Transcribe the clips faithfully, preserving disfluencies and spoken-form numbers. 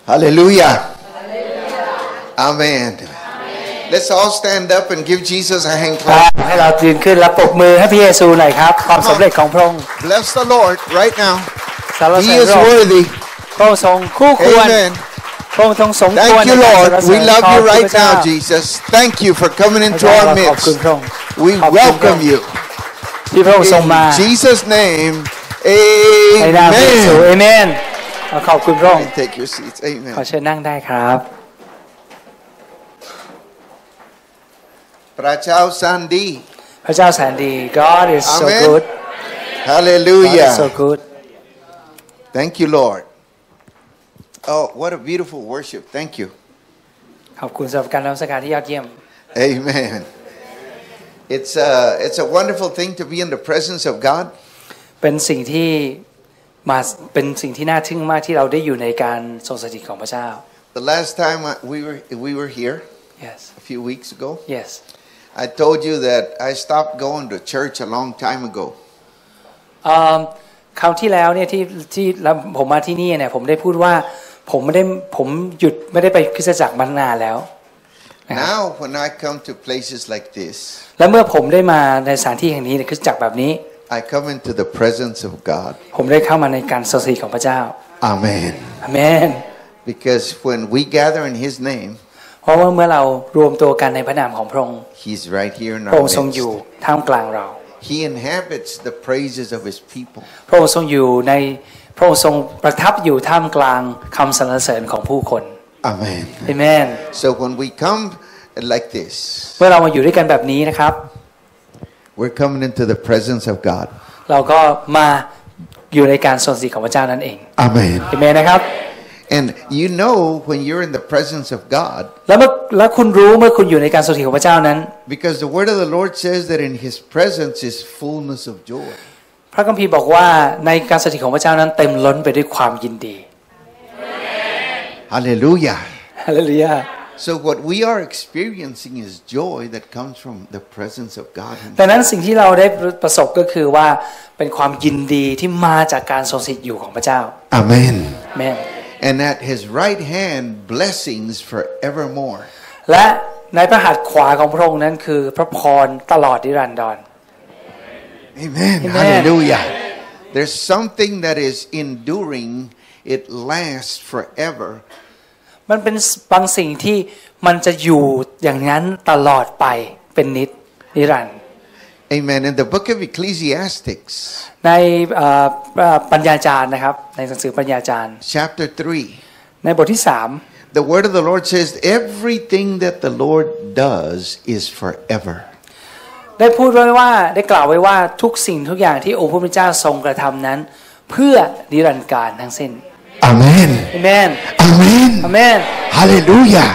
Hallelujah. Amen. Let's all stand up and give Jesus a hand clap. ให้เรายืนขึ้นและปรบมือให้พระเยซูหน่อยครับความสำเร็จของพระองค์ Bless the Lord right now. สรรเส He ริญ is พระองค์ worthy. พระองค์ทรงคู่ควร Amen. พระองค์ทรงสมควร Thank you, Lord. We love you right now, Jesus. Thank you for coming into our ขอบคุณ midst. พระองค์ We welcome you. ที่พระองค์ทรงมา In Jesus' name, ในนามพระเยซูเอ Amen. เมนขอบคุณพระองค์ Take your seats. ขอ Amen. เชิญนั่งได้ครับพระเจ้าแสนดีพระเจ้าแสนดี God is so Amen. good God Hallelujah. is so good Thank you, Lord. Oh, what a beautiful worship. Thank you. ขอบคุณสำหรับการนมัสการที่ยอดเยี่ยม Amen. It's a, it's a wonderful thing to be in the presence of God. เป็นสิ่งที่มาเป็นสิ่งที่น่าทึ่งมากที่เราได้อยู่ในการทรงสถิตของพระเจ้า The last time we were we were here Yes a few weeks ago, Yes I told you that I stopped going to church a long time ago. คราวที่แล้วเนี่ยที่ที่ผมมาที่นี่เนี่ยผมได้พูดว่าผมไม่ได้ผมหยุดไม่ได้ไปคริสตจักรมานานแล้ว Now when I come to places like this, และเมื่อผมได้มาในสถานที่แห่งนี้ในคริสตจักรแบบนี้ I come into the presence of God. ผมได้เข้ามาในการทรงสถิตของพระเจ้า Amen. อาเมน Because when we gather in His name, เพราะว่าเมื่อเรารวมตัวกันในพระนามของพระองค์ He's right here in พระ our องค์ทรงอยู่ midst. ท่ามกลางเรา He inhabits the praises of His people. พระองค์ทรงอยู่ในพระองค์ทรงประทับอยู่ท่ามกลางคำสรรเสริญของผู้คน Amen. อาเมน So when we come like this, เมื่อเรามาอยู่ด้วยกันแบบนี้นะครับ we're coming into the presence of God. เราก็มาอยู่ในการทรงสถิตของพระเจ้านั่นเอง Amen. อาเมนนะครับ And you know when you're in the presence of God, แล้วเมื่อแล้วคุณรู้เมื่อคุณอยู่ในการทรงสถิตของพระเจ้านั้น because the word of the Lord says that in His presence is fullness of joy. พระคัมภีร์บอกว่าในการสถิตของพระเจ้านั้นเต็มล้นไปด้วยความยินดี Hallelujah. ฮาเลลูยา So what we are experiencing is joy that comes from the presence of God. ดังนั้นสิ่งที่เราได้ประสบก็คือว่าเป็นความยินดีที่มาจากการทรงสถิตอยู่ของพระเจ้า Amen. อาเมน And at His right hand blessings forevermore. และในพระหัตถ์ขวาของพระองค์นั้นคือพระพรตลอดนิรันดร Amen. Amen. Hallelujah. There's something that is enduring. It lasts forever. มันเป็นบางสิ่งที่มันจะอยู่อย่างนั้นตลอดไปเป็นนิจนิรันดร์ Amen. In the book of Ecclesiastics, ในปัญญาจารย์นะครับในหนังสือปัญญาจารย์ chapter three, ในบทที่สาม the word of the Lord says, everything that the Lord does is forever. ได้พูดไว้ว่าได้กล่าวไว้ว่าทุกสิ่งทุกอย่างที่องค์พระผู้เป็นเจ้าทรงกระทำนั้นเพื่อนิรันดร์กาลทั้งสิ้น Amen. อาเมน Amen. อาเมน Hallelujah.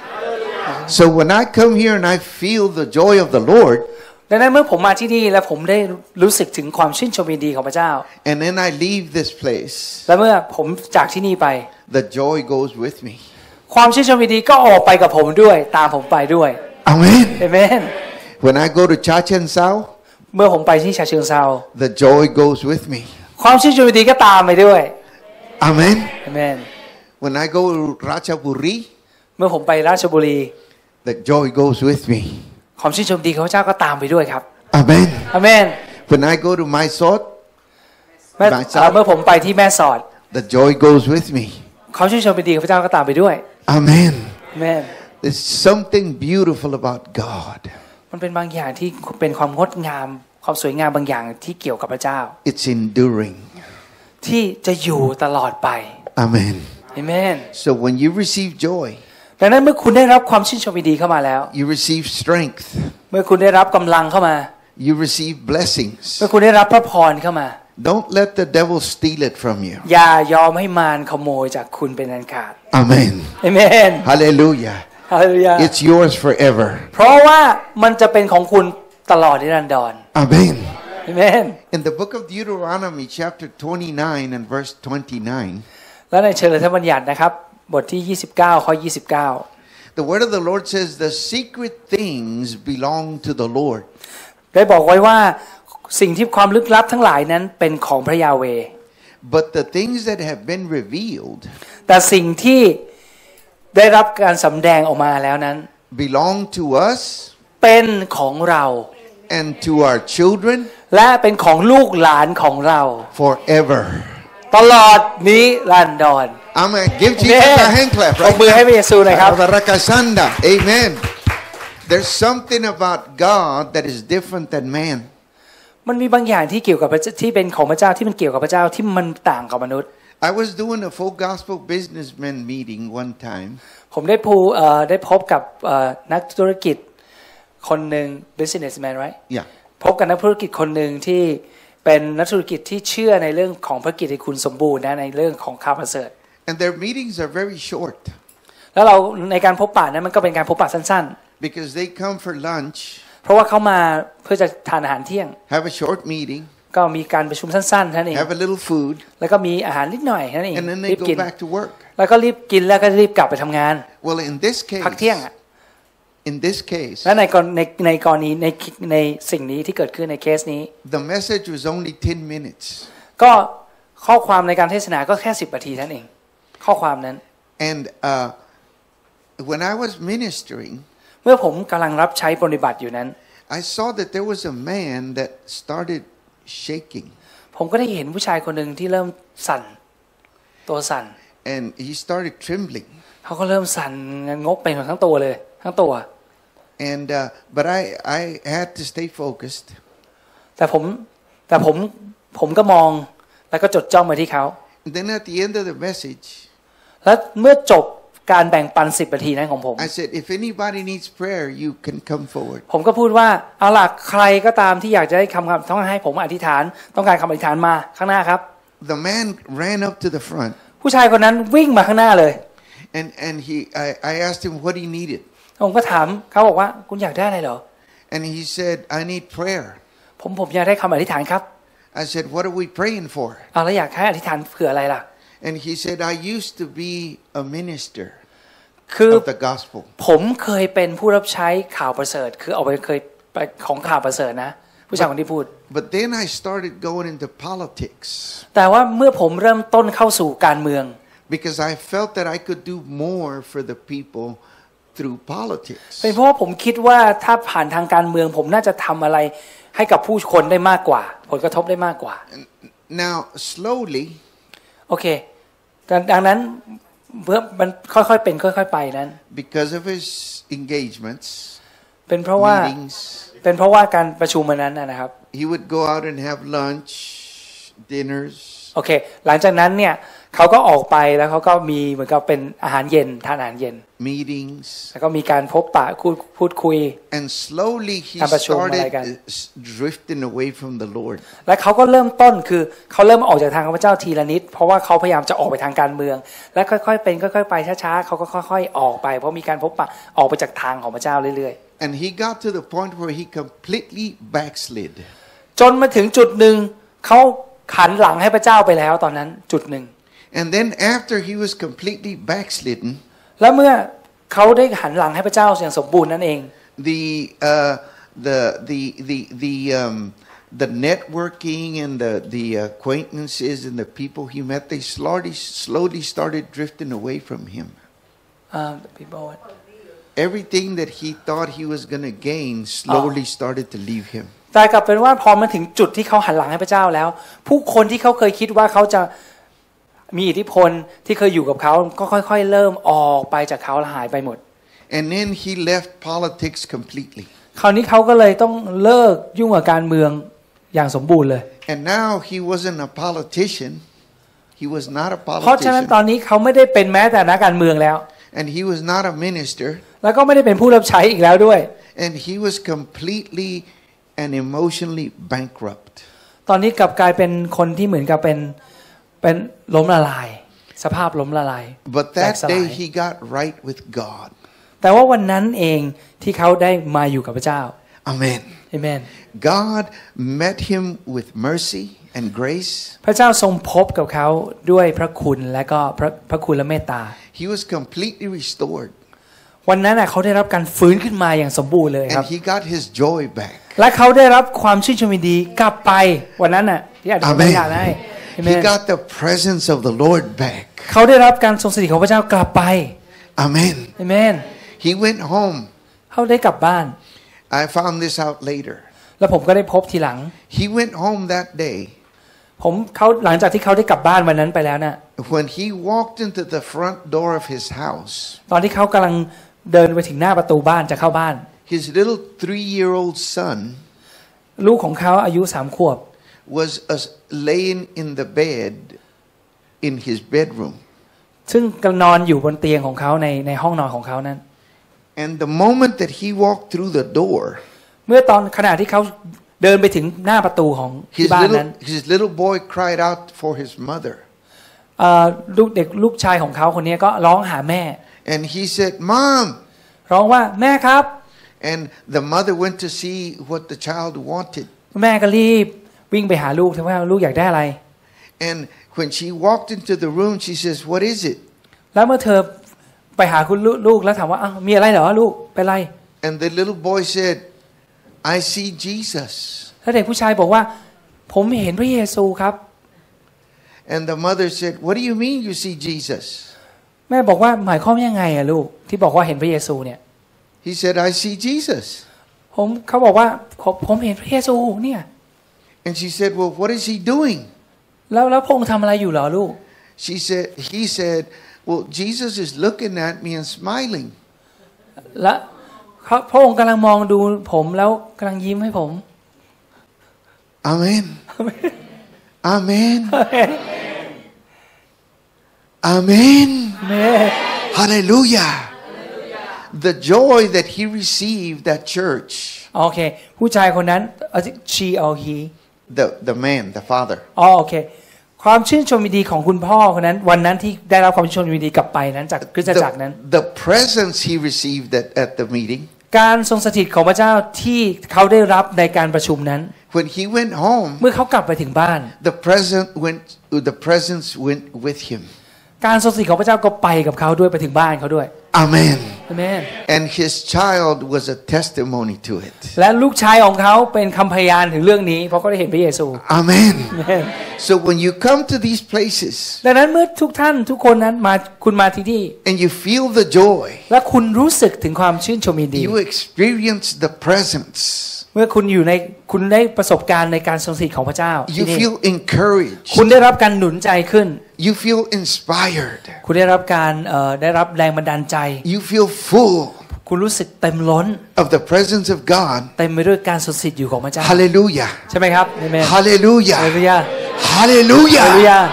So when I come here and I feel the joy of the Lord, ดังนั้นเมื่อผมมาที่นี่และผมได้รู้สึกถึงความชื่นชมยินดีของพระเจ้า and then I leave this place, และเมื่อผมจากที่นี่ไป the joy goes with me. ความชื่นชมยินดีก็ออกไปกับผมด้วยตามผมไปด้วย Amen. อาเมน When I go to Chachansao, เมื่อผมไปที่ฉะเชิงเทรา the joy goes with me. ความชื่นชมยินดีก็ตามไปด้วย Amen. อาเมน When I go to Ratchaburi, เมื่อผมไปราชบุรี the joy goes with me. ความชื่นชมยินดีของพระเจ้าก็ตามไปด้วยครับ Amen. อาเมน When I go to Mysore, เมื่อเมื่อผมไปที่แม่สอด the joy goes with me. ความชื่นชมยินดีของพระเจ้าก็ตามไปด้วย Amen. อาเมน There's something beautiful about God. มันเป็นบางอย่างที่เป็นความงดงามความสวยงามบางอย่างที่เกี่ยวกับพระเจ้า It's enduring. ที่จะอยู่ตลอดไป Amen. อาเมน So when you receive joy, ดังนั้นเมื่อคุณได้รับความชื่นชมยินดีเข้ามาแล้ว you receive strength. เมื่อคุณได้รับกำลังเข้ามา You receive blessings. เมื่อคุณได้รับพระพรเข้ามา Don't let the devil steal it from you. อย่ายอมให้มารขโมยจากคุณเป็นอันขาด Amen. อาเมน Hallelujah. ฮาเลลูยา It's yours forever. เพราะว่ามันจะเป็นของคุณตลอดนิรันดร Amen. อาเมน In the book of Deuteronomy chapter twenty-nine and verse twenty-nine, และในเชิงธรรมบัญญัตินะครับบทที่ยี่สิบเก้าข้อยี่สิบเก้า the word of the Lord says the secret things belong to the Lord. ได้บอกไว้ว่าสิ่งที่ความลึกลับทั้งหลายนั้นเป็นของพระยาเวห์ But the things that have been revealed แต่สิ่งที่ได้รับการสำแดงออกมาแล้วนั้น belong to us เป็นของเรา and to our children และเป็นของลูกหลานของเรา forever ตลอดนิรันดร I'm going to give Jesus a hand clap ปรบมือให้พระเยซูหน่อยครับ Amen. There's something about God that is different than man. มันมีบางอย่างที่เกี่ยวกับที่เป็นของพระเจ้าที่มันเกี่ยวกับพระเจ้าที่มันต่างกับมนุษย์ I was doing a full gospel businessman meeting one time. ผมได้พูเอ่อได้พบกับเอ่อนักธุรกิจคนหนึ่ง businessman right Yeah. พบกับนักธุรกิจคนหนึ่งที่เป็นนักธุรกิจที่เชื่อในเรื่องของพระกิตติคุณสมบูรณ์นะในเรื่องของข่าวประเสริฐ And their meetings are very short. แล้วเราในการพบปะนั้นมันก็เป็นการพบปะสั้นๆ Because they come for lunch. เพราะว่าเขามาเพื่อจะทานอาหารเที่ยง Have a short meeting. ก็มีการประชุมสั้นๆนั่นเอง Have a little food. แล้วก็มีอาหารนิดหน่อยนั่นเอง And then รี they บกิน go back to work. แล้วก็รีบกินแล้วก็รีบกลับไปทำงาน Well, in this พักเที่ยง case, อ่ะ in this case, และในกรในในกรณีในในสิ่งนี้ที่เกิดขึ้นในเคสนี้ the message was only ten minutes. ก็ข้อความในการเทศนาก็แค่สิบนาทีนั่นเองข้อความนั้น And uh, when I was ministering, เมื่อผมกำลังรับใช้ปฏิบัติอยู่นั้น I saw that there was a man that started shaking. ผมก็ได้เห็นผู้ชายคนหนึ่งที่เริ่มสั่นตัวสั่น And he started trembling. เขาก็เริ่มสั่นงกไปหมดทั้งตัวเลยทั้งตัว And uh, but I I had to stay focused. แต่ผมแต่ผมผมก็มองแล้วก็จดจ้องมาที่เขา And then at the end of the message, แล้วเมื่อจบการแบ่งปันสิบนาทีนั้นของผม I said, if anybody needs prayer, you can come forward. ผมก็พูดว่าเอาล่ะใครก็ตามที่อยากจะได้คำคำต้องให้ผมอธิษฐานต้องการคำอธิษฐานมาข้างหน้าครับ The man ran up to the front. ผู้ชายคนนั้นวิ่งมาข้างหน้าเลย And and he I, I asked him what he needed. ผมก็ถามเขาบอกว่าคุณอยากได้อะไรเหรอ And he said, I need prayer. ผมผมอยากได้คำอธิษฐานครับ I said, what are we praying for? เอาแล้วอยากให้อธิษฐานเผื่ออะไรล่ะ And he said, I used to be a minister คือ of the gospel. ผมเคยเป็นผู้รับใช้ข่าวประเสริฐคือเอาไปเคยไปของข่าวประเสริฐนะผู้ชายคนที่พูด But then I started going into politics. แต่ว่าเมื่อผมเริ่มต้นเข้าสู่การเมือง Because I felt that I could do more for the people through politics. เป็นเพราะว่าผมคิดว่าถ้าผ่านทางการเมืองผมน่าจะทำอะไรให้กับผู้คนได้มากกว่าผลกระทบได้มากกว่า Now slowly โอเคดังนั้นเพื่อมันค่อยๆเป็นค่อยๆไปนั้น because of his engagements, เป็นเพราะว่า meetings, เป็นเพราะว่าการประชุมมันนั้นนะครับ he would go out and have lunch, dinners. โอเคหลังจากนั้นเนี่ยเขาก็ออกไปแล้วเขาก็มีเหมือนกับเป็นอาหารเย็นทานอาหารเย็น meetings, แล้วก็มีการพบปะพูดพูดคุย and slowly he การประชุมอะไรกัน started drifting away from the Lord. และเขาก็เริ่มต้นคือเขาเริ่มออกจากทางพระเจ้าทีละนิดเพราะว่าเขาพยายามจะออกไปทางการเมืองและค่อยๆเป็นค่อยๆไปช้าๆเขาก็ค่อยๆออกไปเพราะมีการพบปะออกไปจากทางของพระเจ้าเรื่อย And he got to the point where he completely backslid. ๆจนมาถึงจุดหนึ่งเขาหันหลังให้พระเจ้าไปแล้วตอนนั้นจุดหนึ่ง And then after he was completely backslidden, แล้วเมื่อเขาได้หันหลังให้พระเจ้าอย่างสมบูรณ์นั่นเอง the uh, the the the the um, the networking and the the acquaintances and the people he met, they slowly slowly started drifting away from him. Um, the people what? Everything that he thought he was going to gain slowly started to leave him. แต่กลับเป็นว่าพอมาถึงจุดที่เขาหันหลังให้พระเจ้าแล้วผู้คนที่เขาเคยคิดว่าเขาจะมีอิทธิพลที่เคยอยู่กับเขาก็ค่อยๆเริ่มออกไปจากเขาและหายไปหมด And then he left politics completely. คราวนี้เขาก็เลยต้องเลิกยุ่งกับการเมืองอย่างสมบูรณ์เลย And now he wasn't a politician. He was not a เพราะฉะนั้นตอ politician. นนี้เขาไม่ได้เป็นแม้แต่นักการเมืองแล้ว And he was not a minister. แล้วก็ไม่ได้เป็นผู้รับใช้อีกแล้วด้วย And he was completely and emotionally bankrupt. ตอนนี้กลับกลายเป็นคนที่เหมือนกับเป็นเป็นล้มละลายสภาพล้มละลาย But that day he got right with God. แต่ว่าวันนั้นเองที่เขาได้มาอยู่กับพระเจ้า Amen. Amen. God met him with mercy and grace. พระเจ้าทรงพบกับเขาด้วยพระคุณและก็พระพระคุณและเมตตา He was completely restored. วันนั้นน่ะเขาได้รับการฟื้นขึ้นมาอย่างสมบูรณ์เลยครั And บ he got his joy back. และเขาได้รับความชื่นชมยินดีกลับไปวันนั้นน่ะที่อาจจะไม่อยากได้ He got the presence of the Lord back. เขาได้รับการทรงสถิตของพระเจ้ากลับไป Amen. Amen. He went home. เขาได้กลับบ้าน I found this out later. แล้วผมก็ได้พบทีหลัง He went home that day. ผมเขาหลังจากที่เขาได้กลับบ้านวันนั้นไปแล้วน่ะ When he walked into the front door of his house. ตอนที่เขากำลังเดินไปถึงหน้าประตูบ้านจะเข้าบ้าน His little three-year-old son. ลูกของเขาอายุสามขวบ was uh, laying in the bed in his bedroom. ซึ่งกำลังนอนอยู่บนเตียงของเขาในในห้องนอนของเขานั้น And the moment that he walked through the door, เมื่อตอนขณะที่เขาเดินไปถึงหน้าประตูของที่ his บ้าน little นั้น his little boy cried out for his mother. เอ่อลูกเด็กลูกชายของเขาคนนี้ก็ร้องหาแม่ And he said, "Mom." ร้องว่าแม่ครับ And the mother went to see what the child wanted. แม่ก็รีบวิ่งไปหาลูกว่าลูกอยากได้อะไร And when she walked into the room, she says, "What is it?" แล้วเมื่อเธอไปหาคุณลูกแล้วถามว่าอ้าวมีอะไรเหรอลูกเป็นไร And the little boy said, "I see Jesus." แล้วเด็กผู้ชายบอกว่าผมเห็นพระเยซูครับ And the mother said, "What do you mean you see Jesus?" แม่บอกว่าหมายความยังไงอะลูกที่บอกว่าเห็นพระเยซูเนี่ย He said, "I see Jesus." ผมเขาบอกว่าผมเห็นพระเยซูเนี่ย And she said, "Well, what is he doing?" แล้วแล้วพระองค์ทำอะไรอยู่เหรอลูก She said, he said, "Well, Jesus is looking at me and smiling." และพระองค์กำลังมองดูผมแล้วกำลังยิ้มให้ผม Amen. Amen. Amen. Hallelujah. The joy that he received at church. โอเคผู้ชายคนนั้น she or he The the man, the father. อ๋อโอเคความชื่นชมยินดีของคุณพ่อคนนั้นวันนั้นที่ได้รับความชื่นชมยินดีกลับไปนั้นจากคริสตจักรนั้น The, the presence he received at, at the meeting. การทรงสถิตของพระเจ้าที่เขาได้รับในการประชุมนั้น When he went home, เมื่อเขากลับไปถึงบ้าน the presence went. The presence went with him. การทรงสถิตของพระเจ้าก็ไปกับเขาด้วยไปถึงบ้านเขาด้วย Amen. Amen. And his child was a testimony to it. และลูกชายของเขาเป็นคำพยานถึงเรื่องนี้เพราะเขาได้เห็นพระเยซู Amen. Amen. So when you come to these places, ดังนั้นเมื่อทุกท่านทุกคนนั้นมาคุณมาที่นี่ and you feel the joy, และคุณรู้สึกถึงความชื่นชมยินดี you experience the presence. เมื่อคุณอยู่ในคุณได้ประสบการณ์ในการทรงสถิตของพระเจ้า You feel encouraged. คุณได้รับการหนุนใจขึ้น You feel inspired. คุณได้รับการเอ่อได้รับแรงบันดาลใจ You feel full คุณรู้สึกเต็มล้น of the presence of God. เต็มไปด้วยการทรงสถิตอยู่ของพระเจ้า Hallelujah. ใช่ไหมครับ Amen. Hallelujah. Hallelujah. Hallelujah. Hallelujah.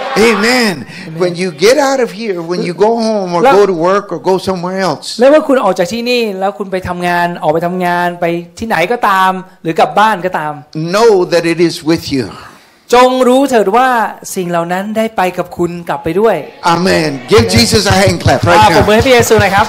Amen. When you get out of here, when you go home or go to work or go somewhere else. แล้วเมื่อคุณออกจากที่นี่แล้วคุณไปทำงานออกไปทำงานไปที่ไหนก็ตามหรือกลับบ้านก็ตาม Know that it is with you. จงรู้เถิดว่าสิ่งเหล่านั้นได้ไปกับคุณกลับไปด้วย Amen. Give Jesus a hand clap อ่า right ผมมือ now. ให้พระเยซูหน่อยครับ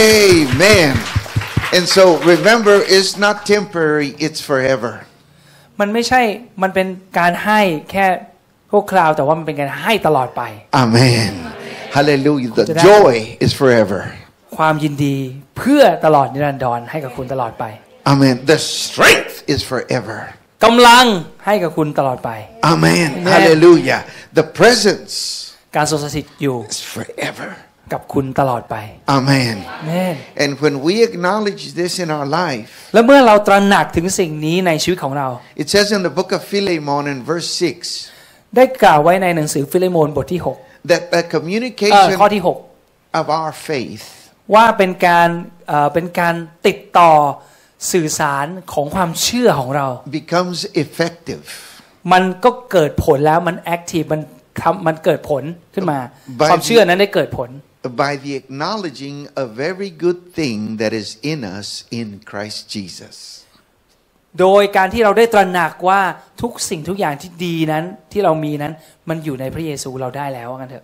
Amen. And so remember, it's not temporary, it's forever. มันไม่ใช่มันเป็นการให้แค่ชั่วคราวแต่ว่ามันเป็นการให้ตลอดไป Amen. Hallelujah. The joy is forever. ความยินดีเพื่อตลอดนิรันดรให้กับคุณตลอดไป Amen. The strength is forever. กำลังให้กับคุณตลอดไป Amen. Hallelujah. The presence การทรงสถิตอยู่ is forever. กับคุณตลอดไป Amen. Amen. And when we acknowledge this in our life, และเมื่อเราตระหนักถึงสิ่งนี้ในชีวิตของเรา it says in the book of Philemon in verse six ได้กล่าวไว้ในหนังสือฟิเลโมนบทที่หก that the เอ่อ communication ข้อที่หก of our faith ว่าเป็นการเอ่อเป็นการติดต่อสื่อสารของความเชื่อของเรา becomes effective มันก็เกิดผลแล้วมันแอคทีฟมันทำมันเกิดผลขึ้นมา By ความเชื่อนั้นได้เกิดผล by the acknowledging of every good thing that is in us in Christ Jesus. โดยการที่เราได้ตระหนักว่าทุกสิ่งทุกอย่างที่ดีนั้นที่เรามีนั้นมันอยู่ในพระเยซูเราได้แล้วว่างั้นเถอะ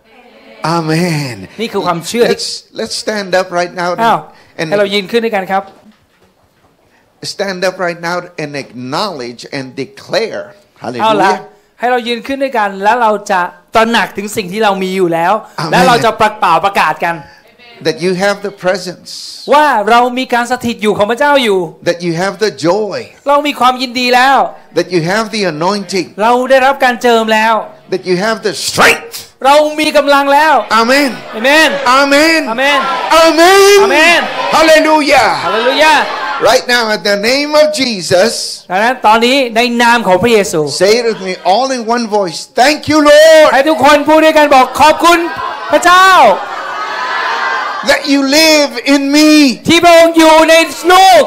Amen. นี่คือความเชื่อ Let's let's stand up right now อ้าว and ให้เรายืนขึ้นด้วยกันครับ stand up right now and acknowledge and declare. เอาละ Hallelujah. ให้เรายืนขึ้นด้วยกันแล้วเราจะตระหนักถึงสิ่งที่เรามีอยู่แล้ว Amen. และเราจะประกาศประกาศกัน That you have the presence. ว่าเรามีการสถิตอยู่ของพระเจ้าอยู่ That you have the joy. เรามีความยินดีแล้ว That you have the anointing. เราได้รับการเจิมแล้ว that you have the strength เรามีกำลังแล้ว Amen Amen Amen Amen Amen Amen Hallelujah Hallelujah Right now in the name of Jesus ดังนั้นตอนนี้ในนามของพระเยซู Say it with me all in one voice Thank you Lord ให้ทุกคนพูดด้วยกันบอกขอบคุณพระเจ้า That you live in me ที่พระองค์อยู่ในลูก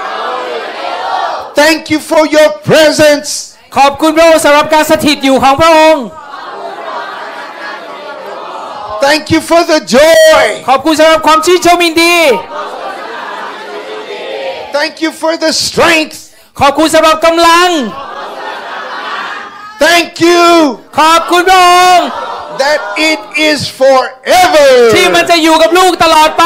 Thank you for your presence ขอบคุณพระองค์สำหรับการสถิตอยู่ของพระองค์ Thank you for the joy ขอบคุณสำหรับความชื่นชมยินดี Thank you for the strength ขอบคุณสำหรับกำลัง Thank you ขอบคุณพระองค์ that it is forever ที่มันจะอยู่กับลูกตลอดไป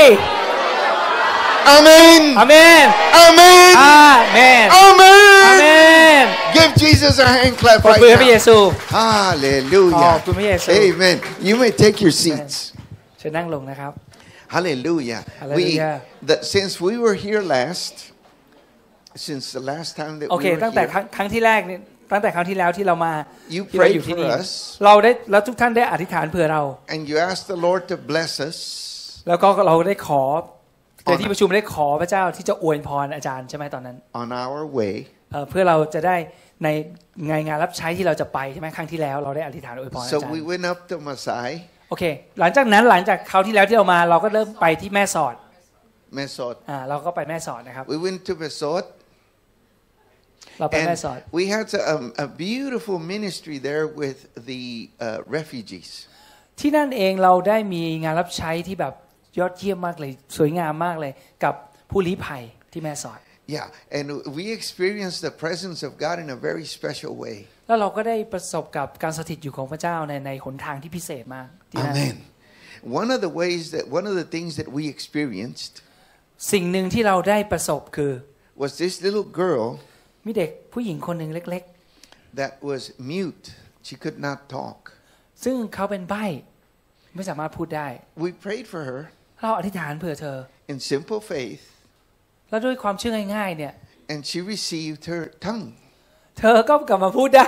Amen Amen Amen Amen Amen Amen Give Jesus a hand clap ขอบ right คุณพระเย now ซู Hallelujah ขอบคุณพระเยซู Amen You may take your seats เชิญนั่งลงนะครับ Hallelujah We Hallelujah. the, since we were here last since the last time that โอเค we were ตั้งแต่ here ครั้งครั้งที่แรกเนี่ยตั้งแต่ครั้งที่แล้วที่เรามา You ที่เรา prayed อยู่ที่ for นี่ us เราได้แล้วทุกท่านได้อธิษฐานเผื่อเรา and you asked the Lord to bless us แล้วก็เราได้ขอในที่ประชุมได้ขอพระเจ้าที่จะอวยพรอาจารย์ใช่ไหมตอนนั้น on our way เอ่อเพื่อเราจะได้ในงานงานรับใช้ที่เราจะไปใช่ไหมครั้งที่แล้วเราได้อธิษฐานอวยพรอา So จาร we ย์ went up to Masai โอเคหลังจากนั้นหลังจากคราวที่แล้วที่เรามาเราก็เริ่มไปที่แม่สอด Mesot อ่าเราก็ไปแม่สอดนะครับ We went to Mesot เราไปแม่ and สอด we had a, um, a beautiful ministry there with the uh, refugees ที่นั่นเองเราได้มีงานรับใช้ที่แบบยอดเยี่ยมมากเลยสวยงามมากเลยกับผู้ลี้ภัยที่แม่สอด Yeah and we experienced the presence of God in a very special way แล้วเราก็ได้ประสบกับการสถิตอยู่ของพระเจ้าในในหนทางที่พิเศษมากที่นั่น Amen One of the ways that one of the things that we experienced สิ่งหนึ่งที่เราได้ประสบคือ was this little girl มีเด็กผู้หญิงคนหนึ่งเล็ก that was mute she could not talk ๆซึ่งเขาเป็นใบ้ไม่สามารถพูดได้ We prayed for her เราอธิษฐานเผื่อเธอ in simple faith แล้วด้วยความเชื่อง่ายๆเนี่ย and she received her tongue เธอก็กลับมาพูดได้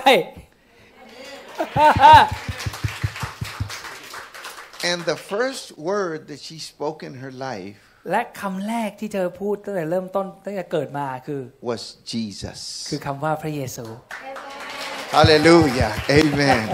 And the first word that she spoke in her life และคำแรกที่เธอพูดตั้งแต่เริ่มต้นตั้งแต่เกิดมาคือ was Jesus คือคำว่าพระเยซู Hallelujah Amen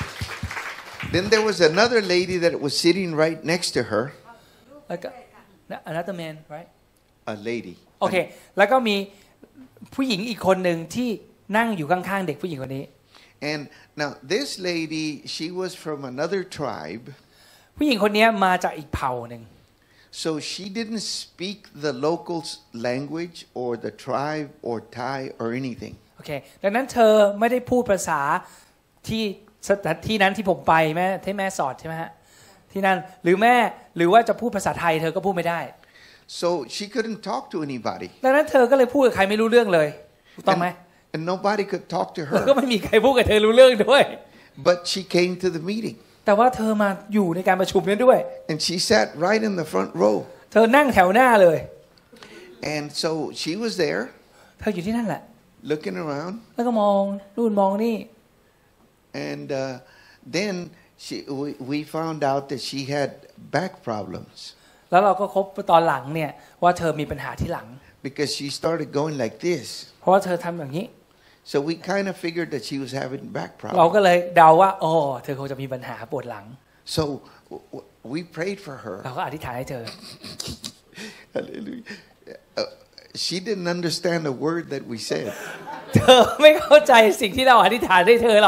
Then there was another lady that was sitting right next to her แล้วก็ another man right a lady โอเคแล้วก็มีผู้หญิงอีกคนหนึ่งที่นั่งอยู่ข้างๆเด็กผู้หญิงคนนี้ And now this lady she was from another tribe ผู้หญิงคนนี้มาจากอีกเผ่าหนึ่ง So she didn't speak the local language or the tribe or Thai or anything โอเคดังนั้นเธอไม่ได้พูดภาษาที่ที่นั้นที่ผมไปแม่ที่แม่สอดใช่ไหมฮะที่นั่นหรือแม่หรือว่าจะพูดภาษาไทยเธอก็พูดไม่ได้ So she couldn't talk to anybody ดังนั้นเธอก็เลยพูดกับใครไม่รู้เรื่องเลยถูกต้องไหม And nobody could talk to แล้วก็ her ไม่มีใครพูดกับเธอรู้เรื่องด้วย But she came to the meeting แต่ว่าเธอมาอยู่ในการประชุมนั้นด้วย And she sat right in the front row เธอนั่งแถวหน้าเลย And so she was there เธออยู่ที่นั่นแหละ looking around แล้วก็มองนู่นมองนี่ And uh, then she, we, we found out that she had back problems แล้วเราก็พบตอนหลังเนี่ยว่าเธอมีปัญหาที่หลัง because she started going like this เพราะว่าเธอทำอย่างนี้ So we kind of figured that she was having back เรา problems ก็เลยเดาว่าโอ้เธอคงจะมีปัญหาปวดหลัง So we prayed for her เราก็อธิษฐานให้เธอ Hallelujah uh, She didn't understand a word that we said เธอไม่เข้าใจสิ่งที่เราอธิษฐานให้เธอเรา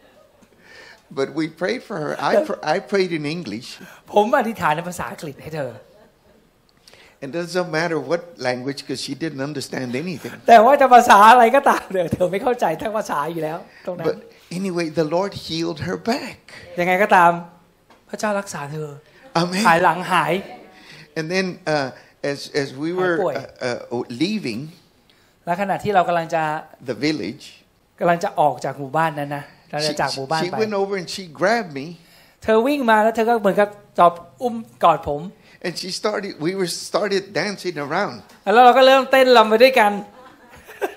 But we prayed for her I, pr- I prayed in English ผมอธิษฐานในภาษาอังกฤษให้เธอ And it doesn't matter what language because she didn't understand anything แต่ว่าจะภาษาอะไรก็ตามเถอะเธอไม่เข้าใจทั้งภาษาอยู่แล้วตรงนั้น But anyway the Lord healed her back ยังไงก็ตามพระเจ้ารักษาเธอ Amen หายหลังหาย And then uh, as, as we were uh, uh, leaving และขณะที่เรากำลังจะ the village กำลังจะออกจากหมู่บ้านนั้นนะเราจะ she, จากหมู่บ้าน she ไป went over and she grabbed me เธอวิ่งมาแล้วเธอก็เหมือนกับจอบอุ้มกอดผม and she started we were started dancing around แล้วเราก็เริ่มเต้นรำไปด้วยกัน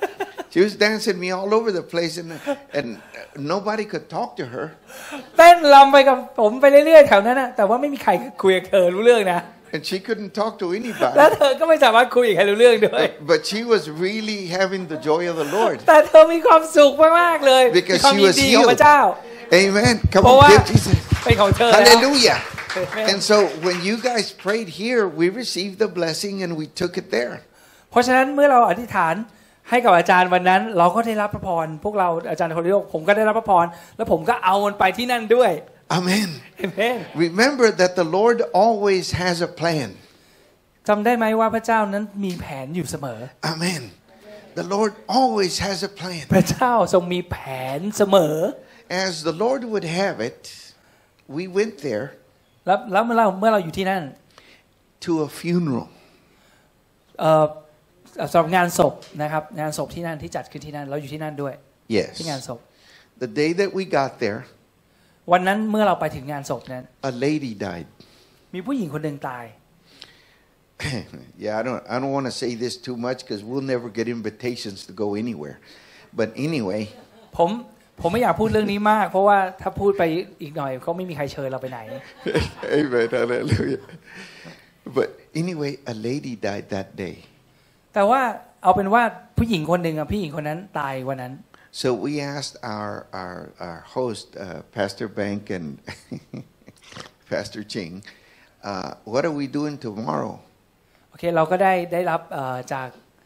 She was dancing me all over the place, and and nobody could talk to her. เต้นรำไปกับผมไปเรื่อยๆแถวนั้นนะแต่ว่าไม่มีใครคุยกับเธอรู้เรื่องนะ And she couldn't talk to anybody. แล้วเธอก็ไม่สามารถคุยกับใครรู้เรื่องด้วย But, but she was really having the joy of the Lord. แต่เธอมีความสุขมากๆเลย Because ความ she ยิน was ดีของพระ healed. เจ้า Amen. Come เพราะว่า on, give Jesus. เป็นของเธอแล้ว Hallelujah. Amen. And so when you guys prayed here, we received the blessing and we took it there. เพราะฉะนั้นเมื่อเราอธิษฐานให้กับอาจารย์วันนั้นเราก็ได้รับพระพรพวกเราอาจารย์โฮลิโอผมก็ได้รับพระพรแล้วผมก็เอามันไปที่นั่นด้วย Amen. Amen. Remember that the Lord always has a plan. จำได้ไหมว่าพระเจ้านั้นมีแผนอยู่เสมอ Amen. The Lord always has a plan. พระเจ้าทรงมีแผนเสมอ As the Lord would have it, we went there แล้วแล้วเมื่อเราเมื่อเราอยู่ที่นั่น to a funeral. เอ่อสำหรับงานศพนะครับงานศพที่นั่นที่จัดขึ้นที่นั่นเราอยู่ที่นั่นด้วย Yes. ที่งานศพ The day that we got there, วันนั้นเมื่อเราไปถึงงานศพนั้น a lady died. มีผู้หญิงคนหนึ่งตาย Yeah, I don't I don't want to say this too much because we'll never get invitations to go anywhere. But anyway, ผมผมไม่อยากพูดเรื่องนี้มากเพราะว่าถ้าพูดไปอีกหน่อยเขาไม่มีใครเชิญเราไปไหน Amen, hallelujah. But anyway, a lady died that day. แต่ว่าเอาเป็นว่าผู้หญิงคนหนึ่งอ่ะผู้หญิงคนนั้นตายวันนั้น So we asked our our our host, uh, Pastor Bank and Pastor Ching, uh, what are we doing tomorrow? โอเคเราก็ได้ได้รับจาก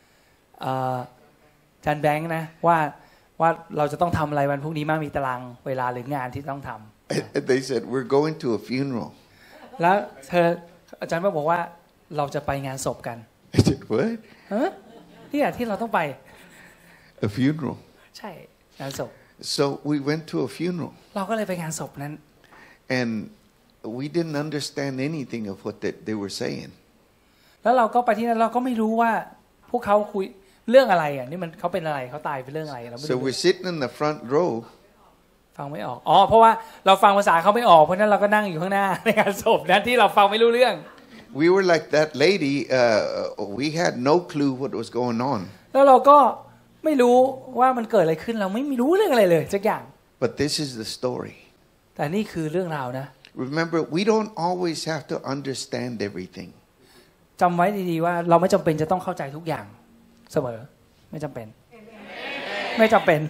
อาจารย์แบงค์นะว่าว่าเราจะต้องทำอะไรวันพรุ่งนี้มากมีตารางเวลาหรืองานที่ต้องทำ They said we're going to a funeral. แล้วเธออาจารย์บอกว่าเราจะไปงานศพกัน I said what? ฮะที่อ่ะที่เราต้องไป A funeral. ใช่งานศพ So we went to a funeral. เราก็เลยไปงานศพนั้น And we didn't understand anything of what they, they were saying. แล้วเราก็ไปที่นั่นเราก็ไม่รู้ว่าพวกเขาคุยเรื่องอะไรอ่ะนี่มันเขาเป็นอะไรเขาตายเป็นเรื่องอะไรเราไม่รู้ So we're sitting in the front row. ฟังไม่ออกอ๋อเพราะว่าเราฟังภาษาเขาไม่ออกเพราะนั้นเราก็นั่งอยู่ข้างหน้าในงานศพนั้นที่เราฟังไม่รู้เรื่อง We were like that lady. Uh, we had no clue what was going on. แล้วเราก็ไม่รู้ว่ามันเกิดอะไรขึ้นเราไม่รู้เรื่องอะไรเลยสักอย่าง But this is the story. แต่นี่คือเรื่องราวนะ Remember, we don't always have to understand everything. จำไว้ดีๆว่าเราไม่จำเป็นจะต้องเข้าใจทุกอย่างเสมอไม่จำเป็นไม่จำเป็น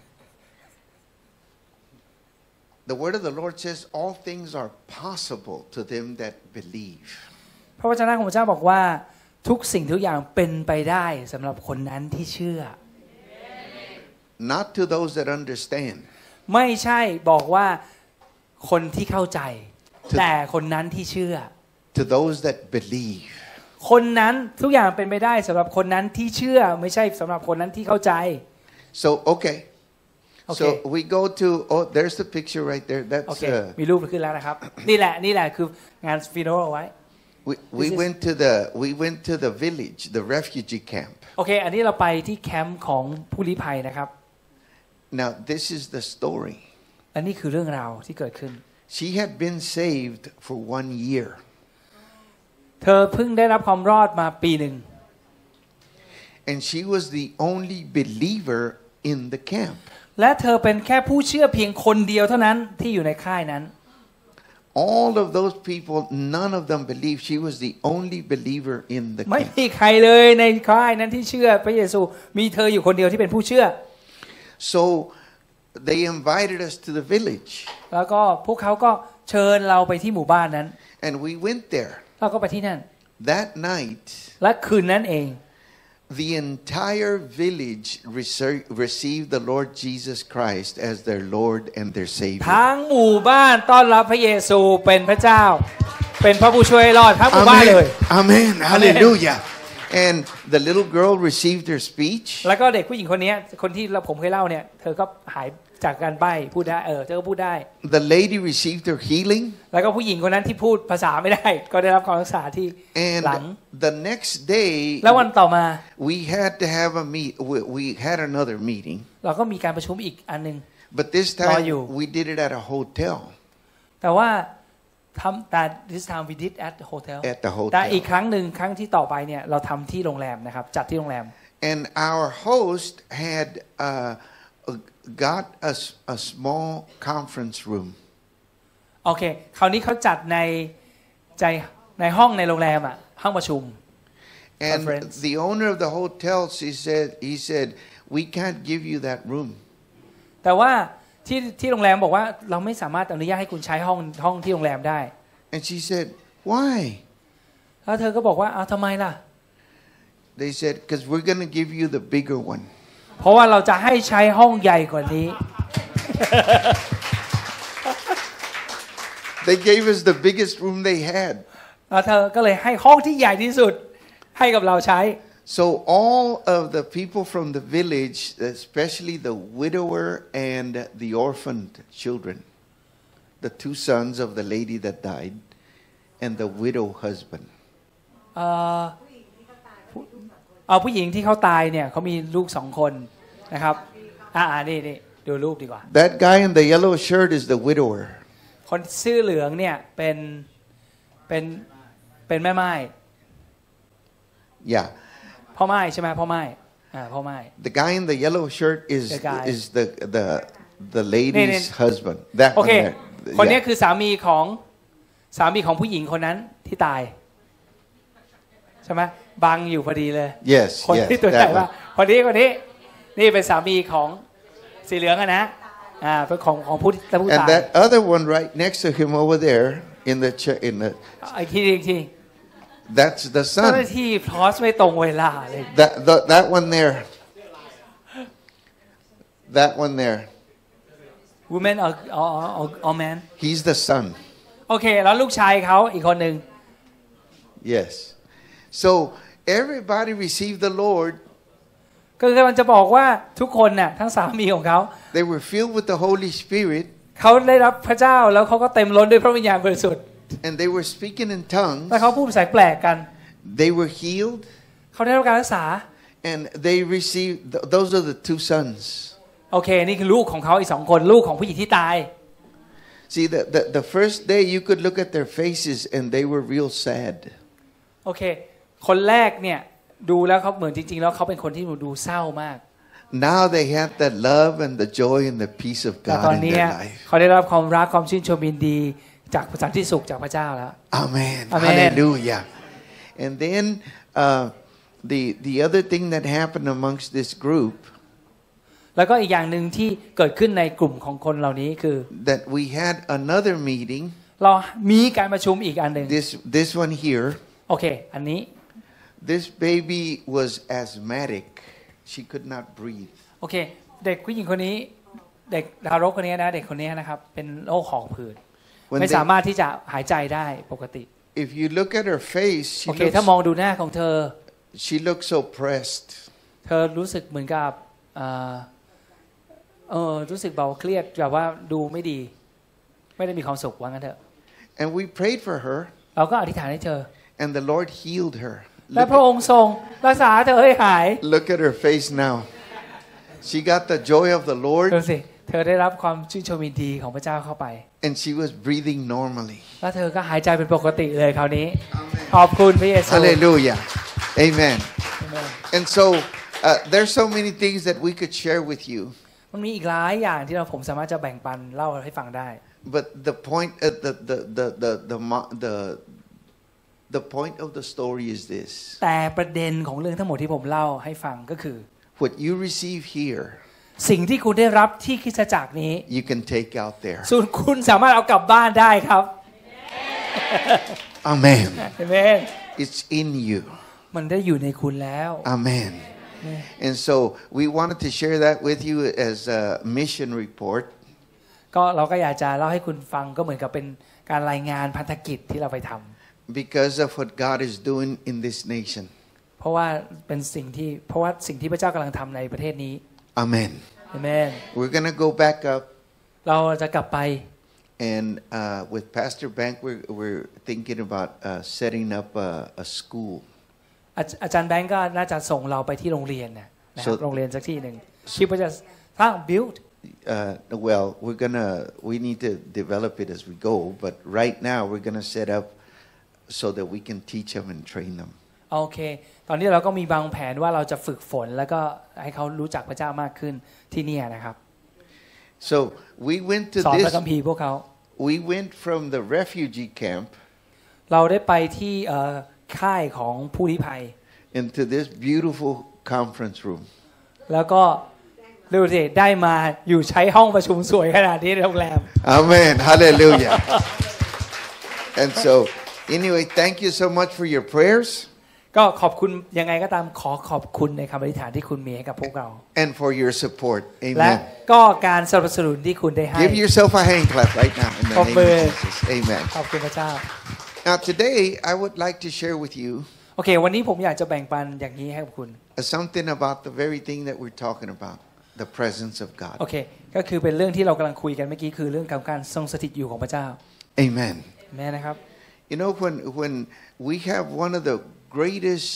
The word of the Lord says all things are possible to them that believe. พระวจนะของพระเจ้าบอกว่าทุกสิ่งทุกอย่างเป็นไปได้สำหรับคนนั้นที่เชื่อ Not to those that understand. ไม่ใช่บอกว่าคนที่เข้าใจแต่คนนั้นที่เชื่อ To those that believe. คนนั้นทุกอย่างเป็นไปได้สำหรับคนนั้นที่เชื่อไม่ใช่สำหรับคนนั้นที่เข้าใจ So okay. Okay. So we go to oh there's the picture right there. โอ That's เค uh, มีรูปขึ้นแล้วนะครับ นี่แหละนี่แหละคืองานฟิโนเอาไว้ we we is- went to the we went to the village, the refugee camp. โอเคอันนี้เราไปที่แคมป์ของผู้ลี้ภัยนะครับ Now this is the story. และนี่คือเรื่องราวที่เกิดขึ้น She had been saved for one year. เธอเพิ่งได้รับความรอดมาปีหนึ่ง And she was the only believer in the camp. และเธอเป็นแค่ผู้เชื่อเพียงคนเดียวเท่านั้นที่อยู่ในค่ายนั้น All of those people, none of them believed. She was the only believer in the ไม่ camp. มีใครเลยในค่ายนั้นที่เชื่อพระเยซูมีเธออยู่คนเดียวที่เป็นผู้เชื่อ So they invited us to the village. แล้วก็พวกเขาก็เชิญเราไปที่หมู่บ้านนั้น And we went there. เราก็ไปที่นั่น That night, และคืนนั้นเอง the entire village received the Lord Jesus Christ as their Lord and their Savior. ทั้งหมู่บ้านต้อนรับพระเยซูเป็นพระเจ้าเป็นพระผู้ช่วยรอดทั้งหมู่บ้านเลย Amen. Hallelujah. And the little girl received her speech. แล้วก็เด็กผู้หญิงคนนี้คนที่ผมเคยเล่าเนี่ยเธอก็หายจากการใบ้พูดได้เออเธอก็พูดได้ The lady received her healing. แล้วก็ผู้หญิงคนนั้นที่พูดภาษาไม่ได้ก็ได้รับการรักษาที่หลัง And the next day แล้ววันต่อมา we had to have a meet we, we had another meeting. เราก็มีการประชุมอีกอันนึง But this time we did it at a hotel. แต่ว่าทำแต่ this time we did at the hotel At the hotel. แต่อีกครั้งหนึ่งครั้งที่ต่อไปเนี่ยเราทำที่โรงแรมนะครับจัดที่โรงแรม and our host had uh, got a, a small conference room. โอเคคราวนี้เขาจัดในใจในห้องในโรงแรมอ่ะห้องประชุม And the owner of the hotel, he said, he said, we can't give you that room. แต่ว่าที่ที่โรงแรมบอกว่าเราไม่สามารถอนุญาตให้คุณใช้ห้องห้องที่โรงแรมได้ And she said, why? แล้วเธอก็บอกว่าเอาทำไมล่ะ They said, because we're going to give you the bigger one. เพราะว่าเราจะให้ใช้ห้องใหญ่กว่านี้ They gave us the biggest room they had. แล้วเธอก็เลยให้ห้องที่ใหญ่ที่สุดให้กับเราใช้ So all of the people from the village, especially the widower and the orphaned children, the two sons of the lady that died, and the widow husband. เอ่อเอาผู้หญิงที่เขาตายเนี่ยเขามีลูกสองคนนะครับอ่านี่นี่ดูรูปดีกว่า That guy in the yellow shirt is the widower. คนเสื้อเหลืองเนี่ยเป็นเป็นเป็นแม่ไม้ Yeah. พ่อไม้ใช่ไหมพ่อไม้อ่าพ่อไม้ The guy in the yellow shirt is The guy. is the the the lady's นี่นี่ husband. That โอ one เค there. คนนี้ Yeah. คือสามีของสามีของผู้หญิงคนนั้นที่ตายใช่ไหมบังอยู่พอดีเลย Yes, คน yes, ที่ตัวใหญ่ that ว่า one. คนนี้คนนี้นี่เป็นสามีของสีเหลืองอะนะอ่าเป็นของของผู้ผู้ And ตาย that other one right next to him over there in the chair, in the อีกทีอีกที that's the เจ้าหน้า son. ที่พลอสไม่ตรงเวลาเลย That the, that one there. That one there. woman or or or, or man He's the son. โอเคแล้วลูกชายเขาอีกคนหนึ่ง Yes. So everybody received the Lord. ก็คือมันจะบอกว่าทุกคนน่ะทั้งสามีของเขา They were filled with the Holy Spirit. เขาได้รับพระเจ้าแล้วเขาก็เต็มล้นด้วยพระวิญญาณบริสุทธิ์ And they were speaking in tongues. แล้วเขาพูดภาษาแปลกกัน They were healed. เขาได้รับการรักษา And they received, th- those are the two sons. โอเคนี่คือลูกของเขาอีกสองคนลูกของผู้หญิงที่ตาย See, the, the, the first day you could look at their faces and they were real sad. โอเคคนแรกเนี่ยดูแล้วเขาเหมือนจริงๆแล้วเขาเป็นคนที่ดูเศร้ามาก Now they have the love and the joy and the peace of แต่ตอน God in นี้ their life. เขาได้รับความรักความชื่นชมยินดีจากสันติสุขจากพระเจ้าแล้ว Amen. Amen. Hallelujah. And then uh, the, the other thing that happened amongst this group, แล้วก็อีกอย่างหนึ่งที่เกิดขึ้นในกลุ่มของคนเหล่านี้คือ that we had another meeting, เรามีการประชุมอีกอันหนึ่ง this, this one here, โอเคอันนี้ this baby was asthmatic. She could not breathe. โอเคเด็กผู้หญิงคนนี้เด็กทารกคนนี้นะเด็กคนนี้นะครับเป็นโรคหอบหืด When ไม่ they- สามารถที่จะหายใจได้ปกติ If you look at her face, she โอเค looks, ถ้ามองดูหน้าของเธอ she looks so pressed. เธอรู้สึกเหมือนกับเอ่อเออรู้สึกเบาเครียดแบบว่าดูไม่ดี ไม่ได้มีความสุขว่างั้นเถอะ And we prayed for her, เราก็อธิษฐานให้เธอ and the Lord healed her. และ Look พระองค์ทรงรักษาเธอให้หาย at, look at her face now. She got the joy of the ดู Lord, สิเธอได้รับความชื่นชมยินดีของพระเจ้าเข้าไป and she was breathing normally. แล้วเธอก็หายใจเป็นปกติเลยคราวนี้ ขอบคุณพระเยซู Hallelujah. Amen. Amen. And so uh, there's so many things that we could share with you. มันมีอีกหลายอย่างที่เราผมสามารถจะแบ่งปันเล่าให้ฟังได้ But the point, uh, the, the, the, the, the, mo- the, the point of the story is this. แต่ประเด็นของเรื่องทั้งหมดที่ผมเล่าให้ฟังก็คือ What you receive here, สิ่งที่คุณได้รับที่คริสตจักรนี้ you can take out there. ส่วนคุณสามารถเอากลับบ้านได้ครับ Amen. เห็นไหม It's in you. มันได้อยู่ในคุณแล้ว Amen. And so we wanted to share that with you as a mission report. ก็เราก็อยากจะเล่าให้คุณฟังก็เหมือนกับเป็นการรายงานพันธกิจที่เราไปทำ Because of what God is doing in this nation. เพราะว่าเป็นสิ่งที่เพราะว่าสิ่งที่พระเจ้ากำลังทำในประเทศนี้ Amen. เห็นไหม We're going to go back up. เราจะกลับไป And uh, with Pastor Bank, we're, we're thinking about uh, setting up a, a school. อาอาจารย์แบงก์ก็น่าจะส่งเราไปที่โรงเรียนนะนะครับ So- โรงเรียนสักที่หนึ่งคิดว่าจะสร้าง build Uh, well, we're gonna we need to develop it as we go. But right now, we're gonna set up so that we can teach them and train them. โอเคตอนนี้เราก็มีบางแผนว่าเราจะฝึกฝนแล้วก็ให้เขารู้จักพระเจ้ามากขึ้นที่นี่นะครับ So we went to สอน this พระคัมภีร์พวกเขา we went from the refugee camp เราได้ไปที่ค่ายของผู้ลี้ภัย into this beautiful conference room แล้วก็ดูสิได้มาอยู่ใช้ห้องประชุมสวยขนาดนี้ในโรงแรม Amen hallelujah and so anyway thank you so much for your prayers ก็ขอบคุณยังไงก็ตามขอขอบคุณในคำอธิษฐานที่คุณมีให้กับพวกเรา and for your support และ amen ก็การสนับสนุนที่คุณได้ให้ give yourself a hand clap right now in the name of Jesus amen ขอบคุณพระเจ้า now today I would like to share with you โอเควันนี้ผมอยากจะแบ่งปันอย่างนี้ให้กับคุณ something about the very thing that we're talking about the presence of God โอเคก็คือเป็นเรื่องที่เรากำลังคุยกันเมื่อกี้คือเรื่องการทรงสถิตอยู่ของพระเจ้า amen แม่นะครับ you know when when we have one of the greatest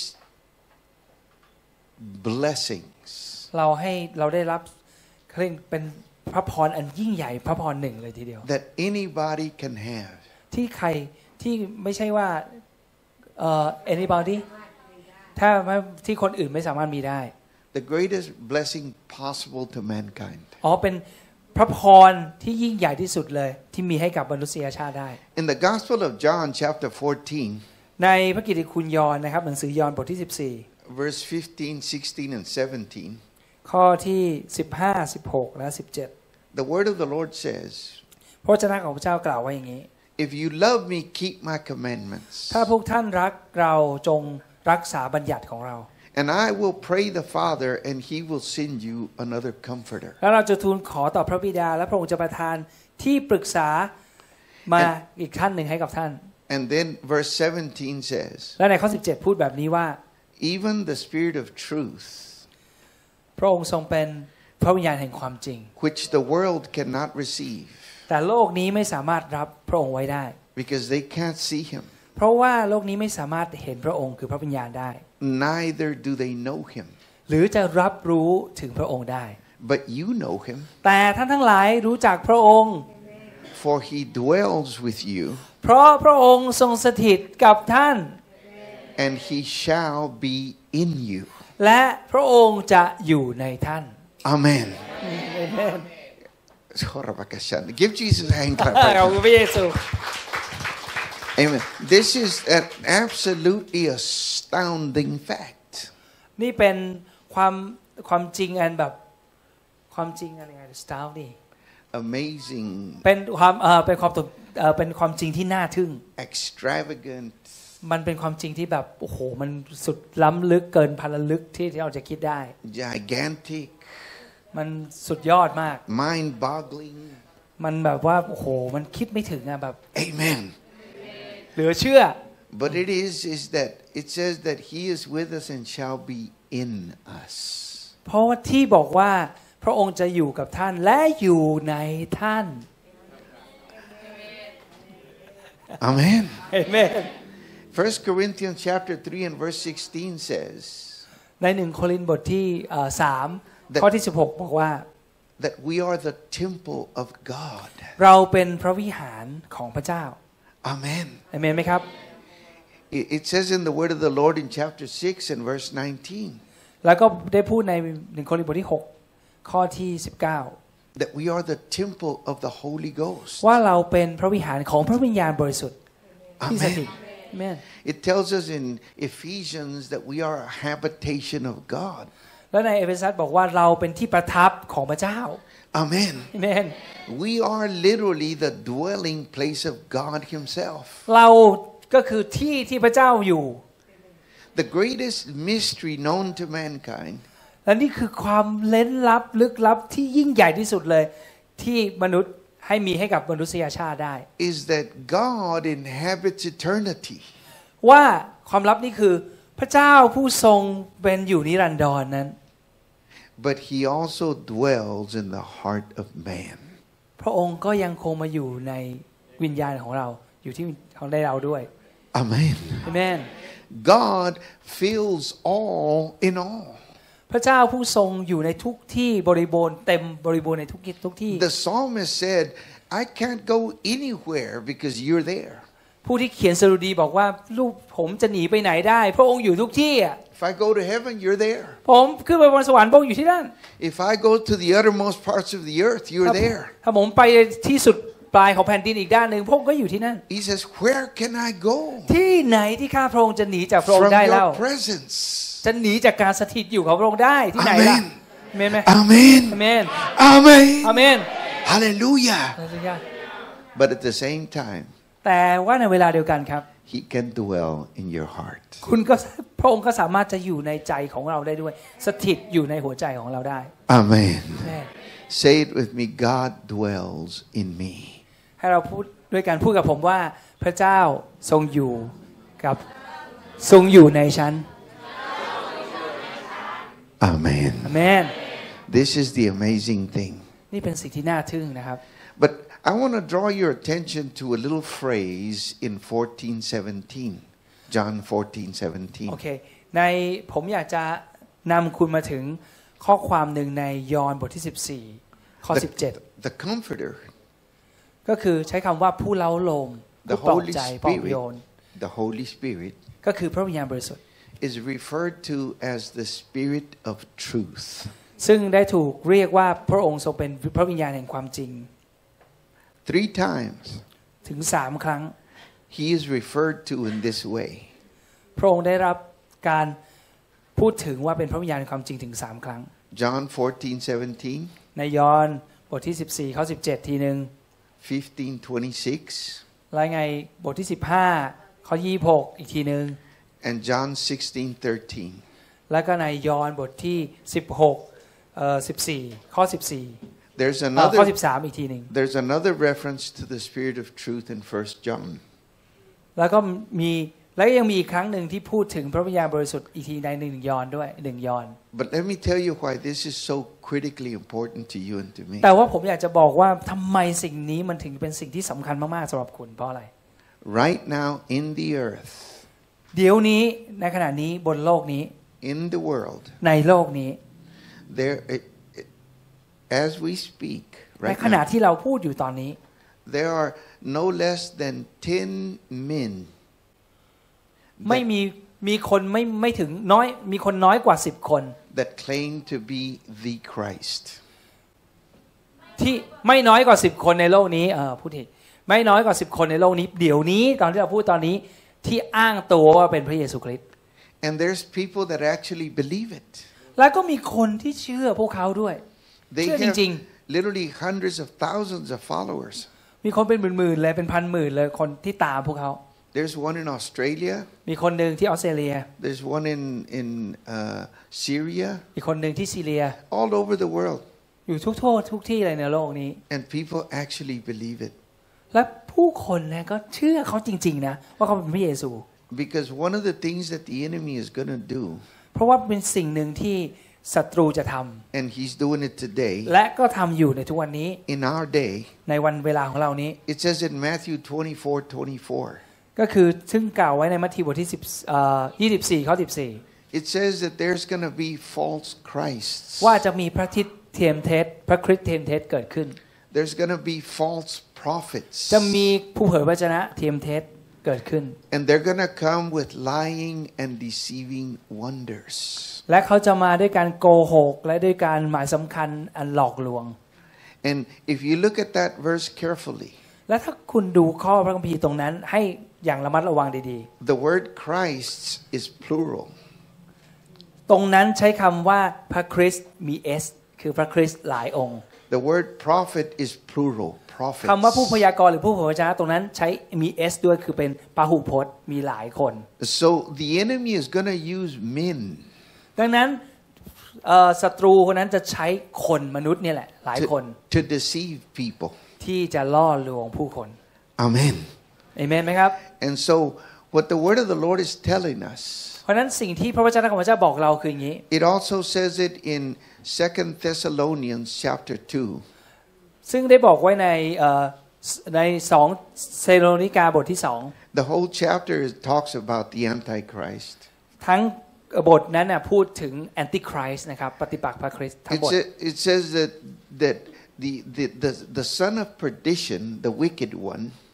blessings เราให้เราได้รับเรียกเป็นพระพรอันยิ่งใหญ่พระพรหนึ่งเลยทีเดียว that anybody can have ที่ใครที่ไม่ใช่ว่าเอ่อ anybody ถ้าที่คนอื่นไม่สามารถมีได้ the greatest blessing possible to mankind อ๋อเป็นพระพรที่ยิ่งใหญ่ที่สุดเลยที่มีให้กับมนุษยชาติได้ in the Gospel of John chapter fourteen ในพระกิตติคุณยอห์นนะครับหนังสือยอห์นบทที่สิบสี่ verse fifteen, sixteen and seventeen ข้อที่สิบห้า สิบหกและสิบเจ็ด the word of the Lord says พระวจนะของพระเจ้ากล่าวไว้อย่างนี้ if you love me keep my commandments ถ้าพวกท่านรักเราจงรักษาบัญญัติของเรา and I will pray the Father and he will send you another comforter แล้วเราจะทูลขอต่อพระบิดาและพระองค์จะประทานที่ปรึกษามาอีกท่านหนึ่งให้กับท่าน and then verse seventeen says และในข้อสิบเจ็ดพูดแบบนี้ว่า even the Spirit of truth พระองค์ทรงเป็นพระวิญญาณแห่งความจริง which the world cannot receive แต่โลกนี้ไม่สามารถรับพระองค์ไว้ได้ because they can't see him เพราะว่าโลกนี้ไม่สามารถเห็นพระองค์คือพระวิญญาณได้ neither do they know him หรือจะรับรู้ถึงพระองค์ได้ but you know him แต่ท่านทั้งหลายรู้จักพระองค์ for he dwells with you เพราะพระองค์ทรงสถิตกับท่าน and he shall be in you และพระองค์จะอยู่ในท่าน amen give Jesus a hand clap ขอบคุณพระเยซู amen this is an absolutely astounding fact นี่เป็นความความจริงอันแบบความจริงอะไรไง astounding amazing เป็นความเอ่อเป็นความเอ่อเป็นความจริงที่น่าทึ่ง extravagant มันเป็นความจริงที่แบบโอ้โหมันสุดล้ำลึกเกินพันลึกที่ที่เราจะคิดได้ gigantic มันสุดยอดมาก mind boggling มันแบบว่าโอ้โหมันคิดไม่ถึงอะแบบ amen เหลือเชื่อ but it is is that it says that he is with us and shall be in us เพราะว่าที่บอกว่าพระองค์จะอยู่กับท่านและอยู่ในท่าน amen amen First Corinthians chapter three and verse sixteen says ในหนึ่งโครินธ์บทที่สามข้อที่สิบหกบอกว่า that we are the temple of God เราเป็นพระวิหารของพระเจ้า amen amen ไหมครับ it says in the word of the Lord in chapter six and verse nineteen แล้วก็ได้พูดในหนึ่งโครินธ์บทที่หกข้อที่สิบเก้า that we are the temple of the Holy Ghost ว่าเราเป็นพระวิหารของพระวิญญาณบริสุทธิ์ที่สถิต Amen. It tells us in Ephesians that we are a habitation of God. และในเอเฟซัสบอกว่าเราเป็นที่ประทับของพระเจ้า Amen. Amen. We are literally the dwelling place of God Himself. เราก็คือที่ที่พระเจ้าอยู่ The greatest mystery known to mankind. และนี่คือความเล้นลับลึกลับที่ยิ่งใหญ่ที่สุดเลยที่มนุษย์ให้มีให้กับมนุษยชาติได้ Is that God inhabits eternity ว่าความลับนี่คือพระเจ้าผู้ทรงเป็นอยู่นิรันดรนั้น But He also dwells in the heart of man พระองค์ก็ยังคงมาอยู่ในวิญญาณของเราอยู่ที่ของได้เราด้วย Amen Amen God fills all in all พระเจ้าผู้ทรงอยู่ในทุกที่บริบูรณ์เต็มบริบูรณ์ในทุกทุกที่ The psalmist said I can't go anywhere because you're there ผู้ที่เขียนสดุดีบอกว่าลูกผมจะหนีไปไหนได้พระองค์อยู่ทุกที่อ่ะ If I go to heaven, you're there. ผมขึ้นไปบนสวรรค์พระองค์อยู่ที่นั่น If I go to the uttermost parts of the earth, you're there. ถ้าผมไปที่สุดปลายของแผ่นดินอีกด้านหนึ่งพระองค์ก็อยู่ที่นั่น He says, where can I go? ที่ไหนที่ข้าพระองค์จะหนีจากพระองค์ได้ From เล่า your presence. จะหนีจากการสถิตอยู่ของพระองค์ได้ที่ไหนล่ะ Amen. เมนไหม Amen. อาเมน Amen. อาเมน Hallelujah. ฮาเลลูยา But at the same time, แต่ว่าในเวลาเดียวกันครับ He can dwell in your heart. คุณก็พระองค์ก็สามารถจะอยู่ในใจของเราได้ด้วยสถิตอยู่ในหัวใจของเราได้ Amen. แม่ Say it with me. God dwells in me. ให้เราพูดด้วยการพูดกับผมว่าพระเจ้าทรงอยู่กับทรงอยู่ในฉัน Amen. อาเมน This is the amazing thing. นี่เป็นสิ่งที่น่าทึ่งนะครับ But I want to draw your attention to a little phrase in fourteen seventeen. John fourteen seventeen. โอเคในผมอยากจะนำคุณมาถึงข้อความหนึ่งในยอห์นบทที่สิบสี่ข้อสิบเจ็ด The, the Comforter, ก็คือใช้คำว่าผู้เล้าโลม the ผู้ปลอบ Holy ใจปลอบโยน Spirit, the Holy Spirit, ก็คือพระวิญญาณบริสุทธิ์ is referred to as the Spirit of Truth. ซึ่งได้ถูกเรียกว่าพระองค์ทรงเป็นพระวิญญาณแห่งความจริง Three times ถึงสามครั้ง He is referred to in this way. พระองค์ได้รับการพูดถึงว่าเป็นพระวิญญาณแห่งความจริงถึงสามครั้ง John fourteen seventeen, ในยอห์นบทที่สิบสี่ข้อสิบเจ็ดทีนึง fifteen twenty-six, แล้วไงบทที่สิบห้าข้อยี่สิบหกอีกทีนึง and John sixteen thirteen. แล้วก็ในยอห์นบทที่สิบหกเอ่อสิบสี่ข้อสิบสี่ There's ข้อ another สิบสามอีกทีนึง there's another reference to the Spirit of Truth in First John. แล้วก็มีแล้วยังมีอีกครั้งหนึ่งที่พูดถึงพระวิญญาณบริสุทธิ์อีกทีในหนึ่งยอห์นด้วยหนึ่งยอห์น But let me tell you why this is so critically important to you and to me. แต่ว่าผมอยากจะบอกว่าทำไมสิ่งนี้มันถึงเป็นสิ่งที่สำคัญมากๆสำหรับคุณเพราะอะไร Right now in the earth, เดี๋ยวนี้ในขณะนี้บนโลกนี้ in the world, ในโลกนี้ there, it, it, as we speak ใน right ขณะ now, ที่เราพูดอยู่ตอนนี้ there are no less than ten men ไม่มีมีคนไม่ไม่ถึงน้อยมีคนน้อยกว่าสิบคน that claim to be the Christ. ที่ไม่น้อยกว่าสิบคนในโลกนี้เออพูดผิดไม่น้อยกว่าสิบคนในโลกนี้เดี๋ยวนี้ตอนที่เราพูดตอนนี้ที่อ้างตัวว่าเป็นพระเยซูคริสต์ And there's people that actually believe it. แล้วก็มีคนที่เชื่อพวกเขาด้วย They เชื่อจ have ริง literally hundreds of thousands of followers. ๆมีคนเป็นหมื่นๆเลยเป็นพันหมื่นเลยคนที่ตามพวกเขา There's one in Australia. มีคนหนึ่งที่ออสเตรเลีย There's one in in uh, Syria. อีกคนหนึ่งที่ซีเรีย All over the world. อยู่ทุกโทษทุกที่เลยในโลกนี้ And people actually believe it. และผู้คนเนี่ยก็เชื่อเขาจริงๆนะว่าเขาเป็นพระเยซู Because one of the things that the enemy is going to do, เพราะว่าเป็นสิ่งหนึ่งที่ศัตรูจะทำ and he's doing it today, และก็ทำอยู่ในทุกวันนี้ in our day, ในวันเวลาของเรานี้ it says in Matthew twenty-four twenty-four, ก็คือซึ่งกล่าวไว้ในมัทธิวบทที่สิบเอ่อยี่สิบสี่ข้อสิบสี่ it says that there's going to be false Christs. ว่าจะมีพระทิตเทียมเท็จพระคริสต์เทียมเท็จเกิดขึ้น There's going to be false prophets. จะมีผู้เผยพระวจนะเทียมเท็จเกิดขึ้น And they're going to come with lying and deceiving wonders. และเขาจะมาด้วยการโกหกและด้วยการหมายสำคัญอันหลอกลวง And if you look at that verse carefully, และถ้าคุณดูข้อพระคัมภีร์ตรงนั้นให้อย่างระมัดระวังดี the word Christ is plural. ๆตรงนั้นใช้คำว่าพระคริสต์มี S คือพระคริสต์หลายองค์ The word prophet is plural. Prophets. คำว่าผู้พยากรณ์หรือผู้เผยพระวจนะตรงนั้นใช้มี S ด้วยคือเป็นพหูพจน์มีหลายคน So the enemy is going to use men ดังนั้นศัตรูคนนั้นจะใช้คนมนุษย์นี่แหละหลายคน to, to deceive people. ที่จะล่อลวงผู้คน Amen. เอเมนไหมครับ And so what the word of the Lord is telling us, เพราะนั้นสิ่งที่พระวจนะของพระเจ้าบอกเราคืออย่างนี้ it also says it in Second Thessalonians chapter two. ซึ่งได้บอกไว้ในในสองเซโลนิกาบทที่สอง The whole chapter talks about the Antichrist. ทั้งบทนั้นน่ะพูดถึงแอนติคริสต์นะครับปฏิปักษ์พระคริสต์ทั้งบท It says that that the the the the son of perdition, the wicked one,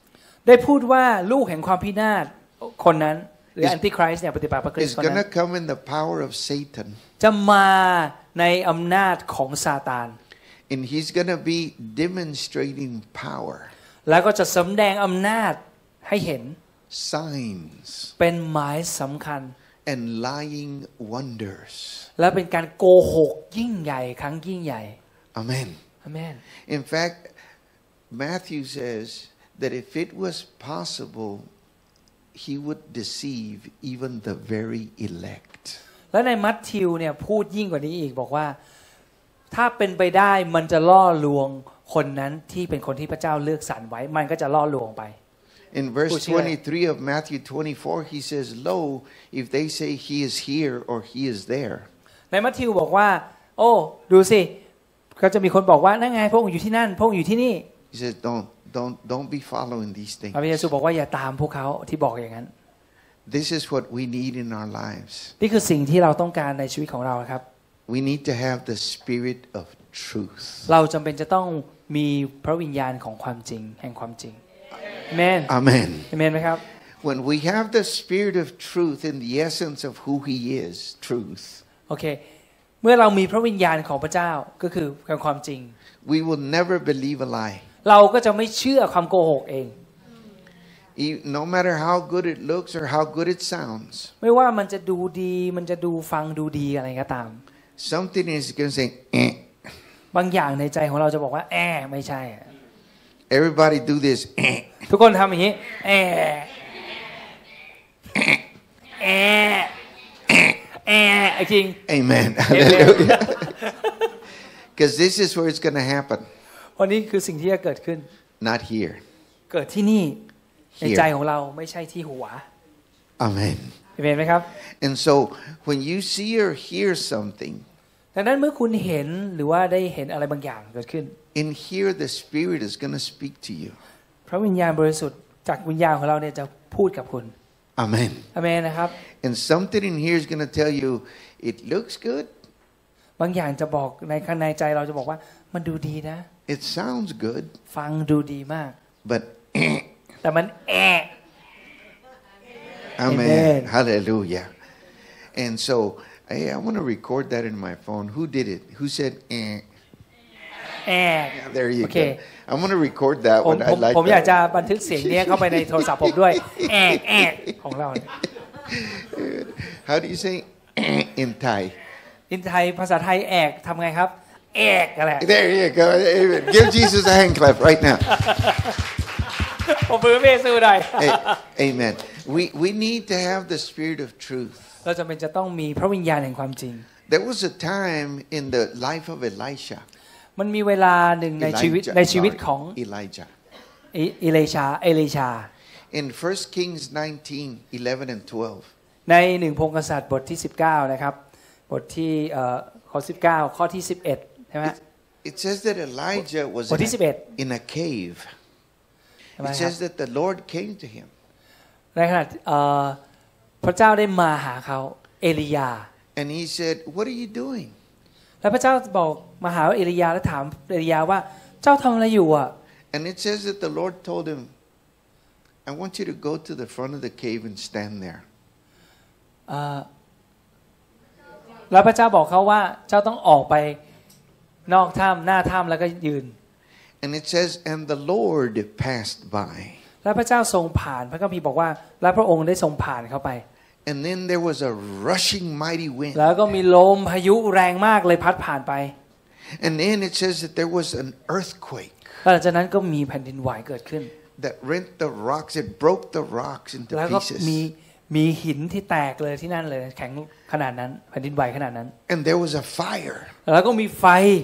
ได้พูดว่าลูกแห่งความพินาศคนนั้นหรือแอนติคริสต์เนี่ยปฏิบัติพระคริสต์คนนั้น is going to come in the power of Satan จะมาในอำนาจของซาตาน and he's going to be demonstrating power แล้วก็จะสำแดงอำนาจให้เห็น signs เป็นหมายสำคัญ and lying wonders และเป็นการโกหกยิ่งใหญ่ครั้งยิ่งใหญ่ Amen Amen In fact Matthew says that if it was possible he would deceive even the very elect และในมัทธิวเนี่ยพูดยิ่งกว่านี้อีกบอกว่าถ้าเป็นไปได้มันจะล่อลวงคนนั้นที่เป็นคนที่พระเจ้าเลือกสรรไว้มันก็จะล่อลวงไป In verse twenty-three of Matthew twenty-four he says lo if they say he is here or he is there ในมัทธิวบอกว่าโอ้ดูสิก็จะมีคนบอกว่านั่นไงพระองค์อยู่ที่นั่นพระองค์อยู่ที่นี่ He says don't don't don't be following these things พระเยซูบอกว่าอย่าตามพวกเขาที่บอกอย่างนั้น This is what we need in our lives นี่คือสิ่งที่เราต้องการในชีวิตของเราครับ We need to have the spirit of truth เราจำเป็นจะต้องมีพระวิญญาณของความจริงแห่งความจริง Amen Amen Amen ไหมครับ When we have the spirit of truth in the essence of who he is truth โอเคเมื่อเรามีพระวิญญาณของพระเจ้าก็คือความจริง We will never believe a lie เราก็จะไม่เชื่อความโกหกเอง No matter how good it looks or how good it sounds ไม่ว่ามันจะดูดีมันจะดูฟังดูดีอะไรก็ตาม Something is going to say eh. บางอย่างในใจของเราจะบอกว่าแอะไม่ใช่ Everybody do this eh. ทุกคนทำอย่างนี้แอะแอะแอะจริง Amen Hallelujah Because this is where it's going to happen วันนี้คือสิ่งที่จะเกิดขึ้น Not here เกิดที่นี่ในใจของเราไม่ใช่ที่หัว Amen เห็นไหมครับ And so when you see or hear something ดังนั้นเมื่อคุณเห็นหรือว่าได้เห็นอะไรบางอย่างเกิดขึ้น In here the Spirit is going to speak to you พระวิญญาณบริสุทธิ์จากวิญญาณของเราเนี่ยจะพูดกับคุณ Amen อาเมนนะครับ And something in here is going to tell you it looks good บางอย่างจะบอกในข้างในใจเราจะบอกว่ามันดูดีนะ It sounds good ฟังดูดีมาก But แต่มันแอะ Amen. Amen. Hallelujah. And so, hey, I want to record that in my phone. Who did it? Who said, eh? แอะ Yeah, there you Okay. go. I'm going to record that ผม one. ผ I ม like ผมอยากจะ that. บันทึกเสียงนี้เข้าไปในโทรศัพท์ผมด้วยแอะแอะของเราเนี่ย How do you say eh in Thai? อินไทยภาษาไทยแอกทำไงครับแอกอะไร There you go. Amen. Give Jesus a hand clap right now. ผมมือเมซูหน่อย Hey, amen. We, we need to have the spirit of truth. เราจำเป็นจะต้องมีพระวิญญาณแห่งความจริง There was a time in the life of Elisha. มันมีเวลาหนึ่งในชีวิต Elijah, ในชีวิต sorry, ของ Elijah. อิเลชาเอลิชา In First Kings nineteen, eleven and twelve. ในหนึ่งพงศ์กษัตริย์บทที่สิบเก้านะครับบทที่เอ่อข้อสิบเก้าข้อที่สิบเอ็ดใช่ไหม It says that Elijah was บทที่สิบเอ็ด in a cave. It says that the Lord came to him. ในขณะเอ่อพระเจ้าได้มาหาเขาเอลียา And he said, what are you doing? แล้วพระเจ้าบอกมาหาเอลียาแล้วถามเอลียาว่าเจ้าทำอะไรอยู่อ่ะ And it says that the Lord told him, I want you to go to the front of the cave and stand there. แล้วพระเจ้าบอกเขาว่าเจ้าต้องออกไปนอกถ้ำหน้าถ้ำแล้วก็ยืน And it says, and the Lord passed by. แล้วพระเจ้าทรงผ่านพระคัมภีร์บอกว่าและพระองค์ได้ทรงผ่านเข้าไป And then there was a rushing mighty wind. แล้วก็มีลมพายุแรงมากเลยพัดผ่านไป And then it says that there was an earthquake หลังจากนั้นก็มีแผ่นดินไหวเกิดขึ้น that rent the rocks. It broke the rocks into แล้วก็มี pieces. มีหินที่แตกเลยที่นั่นเลยแข็งขนาดนั้นแผ่นดินไหวขนาดนั้น And there was a fire. แล้วก็มีไฟ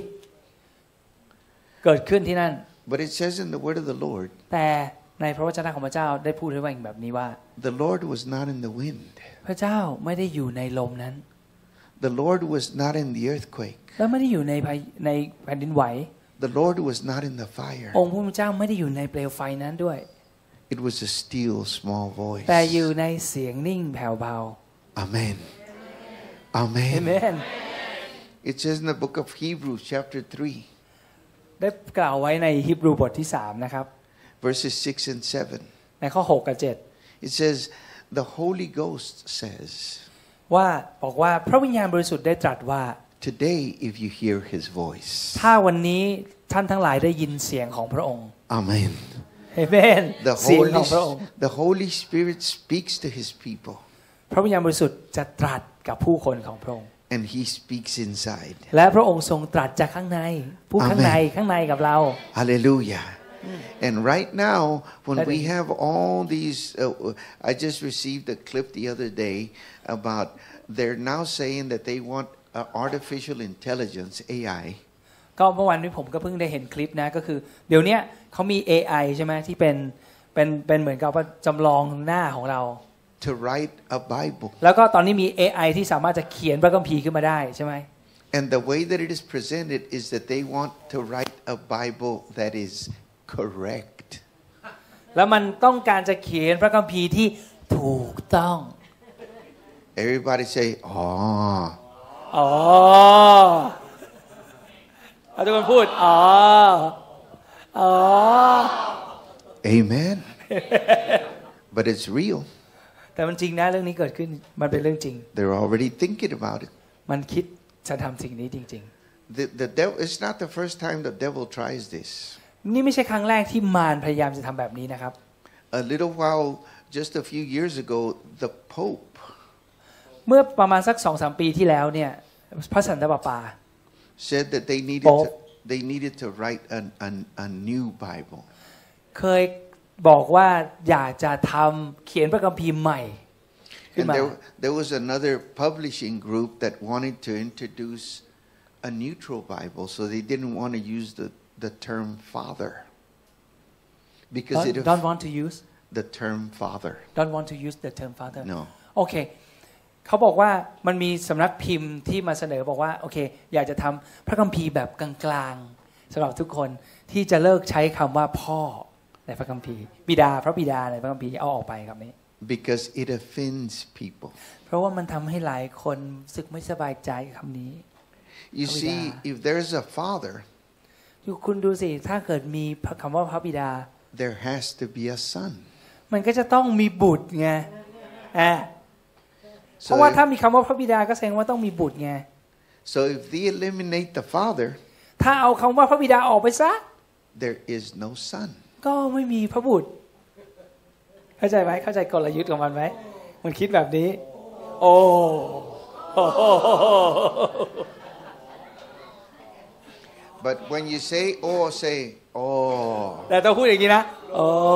เกิดขึ้นที่นั่น But it says in the word of the Lord, แต่ในพระวจนะของพระเจ้าได้พูดไว้แบบนี้ว่า the Lord was not in the wind. พระเจ้าไม่ได้อยู่ในลมนั้น The Lord was not in the earthquake. และไม่ได้อยู่ในในแผ่นดินไหว The Lord was not in the fire. องค์พระเจ้าไม่ได้อยู่ในเปลวไฟนั้นด้วย It was a still small voice. แต่อยู่ในเสียงนิ่งแผ่วเบา Amen. Amen. Amen. It says in the book of Hebrews chapter three, ได้กล่าวไว้ในฮีบรูบทที่สามนะครับ verses six and seven. ในในข้อหกกับเจ็ด It says the Holy Ghost says ว่าบอกว่าพระวิญญาณบริสุทธิ์ได้ตรัสว่า Today if you hear his voice ถ้าวันนี้ท่านทั้งหลายได้ยินเสียงของพระองค์ Amen Amen The เสียง Holy ของพระองค์ The Holy Spirit speaks to his people พระวิญญาณบริสุทธิ์จะตรัสกับผู้คนของพระองค์ and he speaks inside และพระองค์ทรงตรัสจากข้างในผู้ข้างในข้างในกับเรา Hallelujah And right now when we have all these uh, I just received a clip the other day about they're now saying that they want uh, artificial intelligence A I ก็เมื่อวานนี้ผมก็เพิ่งได้เห็นคลิปนะก็คือเดี๋ยวนี้เขามี เอ ไอ ใช่ไหมที่เป็นเป็นเป็นเหมือนกับว่าจำลองหน้าของเรา to write a Bible แล้วก็ตอนนี้มี เอ ไอ ที่สามารถจะเขียนพระคัมภีร์ขึ้นมาได้ใช่ไหม And the way that it is presented is that they want to write a Bible that is correct แล้วมันต้องการจะเขียนพระคัมภีร์ที่ถูกต้อง Everybody say อ๋ออ๋อเอาทุกคนพูดอ๋ออ๋อ Amen But it's real แต่มันจริงนะเรื่องนี้เกิดขึ้นมันเป็นเรื่องจริง They're already thinking about it มันคิดจะทำสิ่งนี้จริงๆ The the devil it's not the first time the devil tries this นี่ไม่ใช่ครั้งแรกที่มารพยายามจะทำแบบนี้นะครับ A little while just a few years ago the Pope เมื่อประมาณสัก สองถึงสาม ปีที่แล้วเนี่ยพระสันตะปาปา said that they needed to, they needed to write an, an, a new Bible เคยบอกว่าอยากจะทำเขียนพระคัมภีร์ใหม่ขึ้น And มา there, there was another publishing group that wanted to introduce a neutral Bible so they didn't want to use the the term father because don't, it don't want to use the term father don't want to use the term father no โอเคเขาบอกว่ามันมีสำนักพิมพ์ที่มาเสนอบอกว่าโอเคอยากจะทำพระคัมภีร์แบบกลางๆสำหรับทุกคนที่จะเลิกใช้คำว่าพ่อในพระคัมภีร์บิดาพระบิดาในพระคัมภีร์เอาออกไปคำนี้ because it offends people เพราะว่ามันทำให้หลายคนรู้สึกไม่สบายใจคำนี้ you see if there's a father คุณดูสิถ้าเกิดมีคำว่าพระบิดา there has to be a son มันก็จะต้องมีบุตรไงอ่ะเพราะว่าถ้ามีคำว่าพระบิดาก็แสดงว่าต้องมีบุตรไง so if they eliminate the father ถ้าเอาคำว่าพระบิดาออกไปซะ there is no son ก็ไม่มีพระบุตรเข้าใจไหมเข้าใจกลยุทธ์ของมันไหมมันคิดแบบนี้โอ้ But when you say oh say oh แต่ต้องพูดอย่างนี้นะโอ้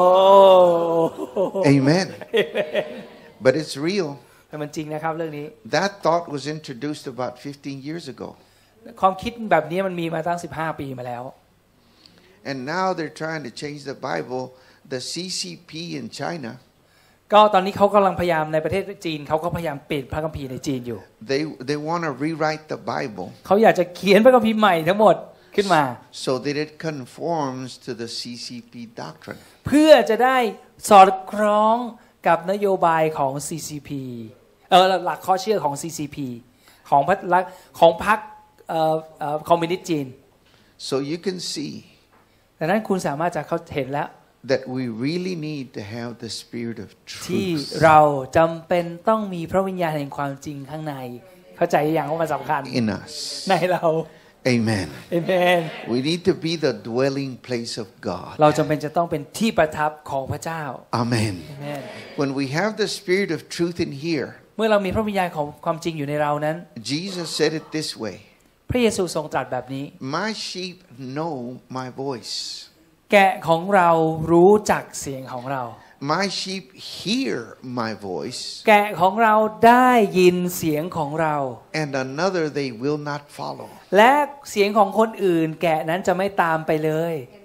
Amen But it's real แต่มันจริงนะครับเรื่องนี้ That thought was introduced about fifteen years ago ความคิดแบบนี้มันมีมาตั้งสิบห้าปีมาแล้ว And now they're trying to change the Bible the ซี ซี พี in China ก็ตอนนี้เขากำลังพยายามในประเทศจีนเขาก็พยายามเปลี่ยนพระคัมภีร์ในจีนอยู่ They they want to rewrite the Bible เขาอยากจะเขียนพระคัมภีร์ใหม่ทั้งหมดขึ้นมา so that it conforms to the ซี ซี พี doctrine เพื่อจะได้สอดคล้องกับนโยบายของ ซี ซี พี เออหลักข้อเชื่อของ ซี ซี พี ของพรรคของพรรคเอ่อเอ่อคอมมิวนิสต์จีน so you can see ดังนั้นคุณสามารถจะเข้าเห็นแล้ว that we really need to have the spirit of ที่ truth เราจำเป็นต้องมีพระวิญญาณแห่งความจริงข้างในเข้าใจอย่างว่ามันสำคัญ in us ในเรา Amen Amen We need to be the dwelling place of God เราจำเป็นจะต้องเป็นที่ประทับของพระเจ้า Amen Amen When we have the spirit of truth in here เมื่อเรามีพระวิญญาณของความจริงอยู่ในเรานั้น Jesus said it this way พระเยซูทรงตรัสแบบนี้ My sheep know my voice แกะของเรารู้จักเสียงของเรา My sheep hear my voice แกะของเราได้ยินเสียงของเรา and another they will not follow และเสียงของคนอื่นแกะนั้นจะไม่ตามไปเลย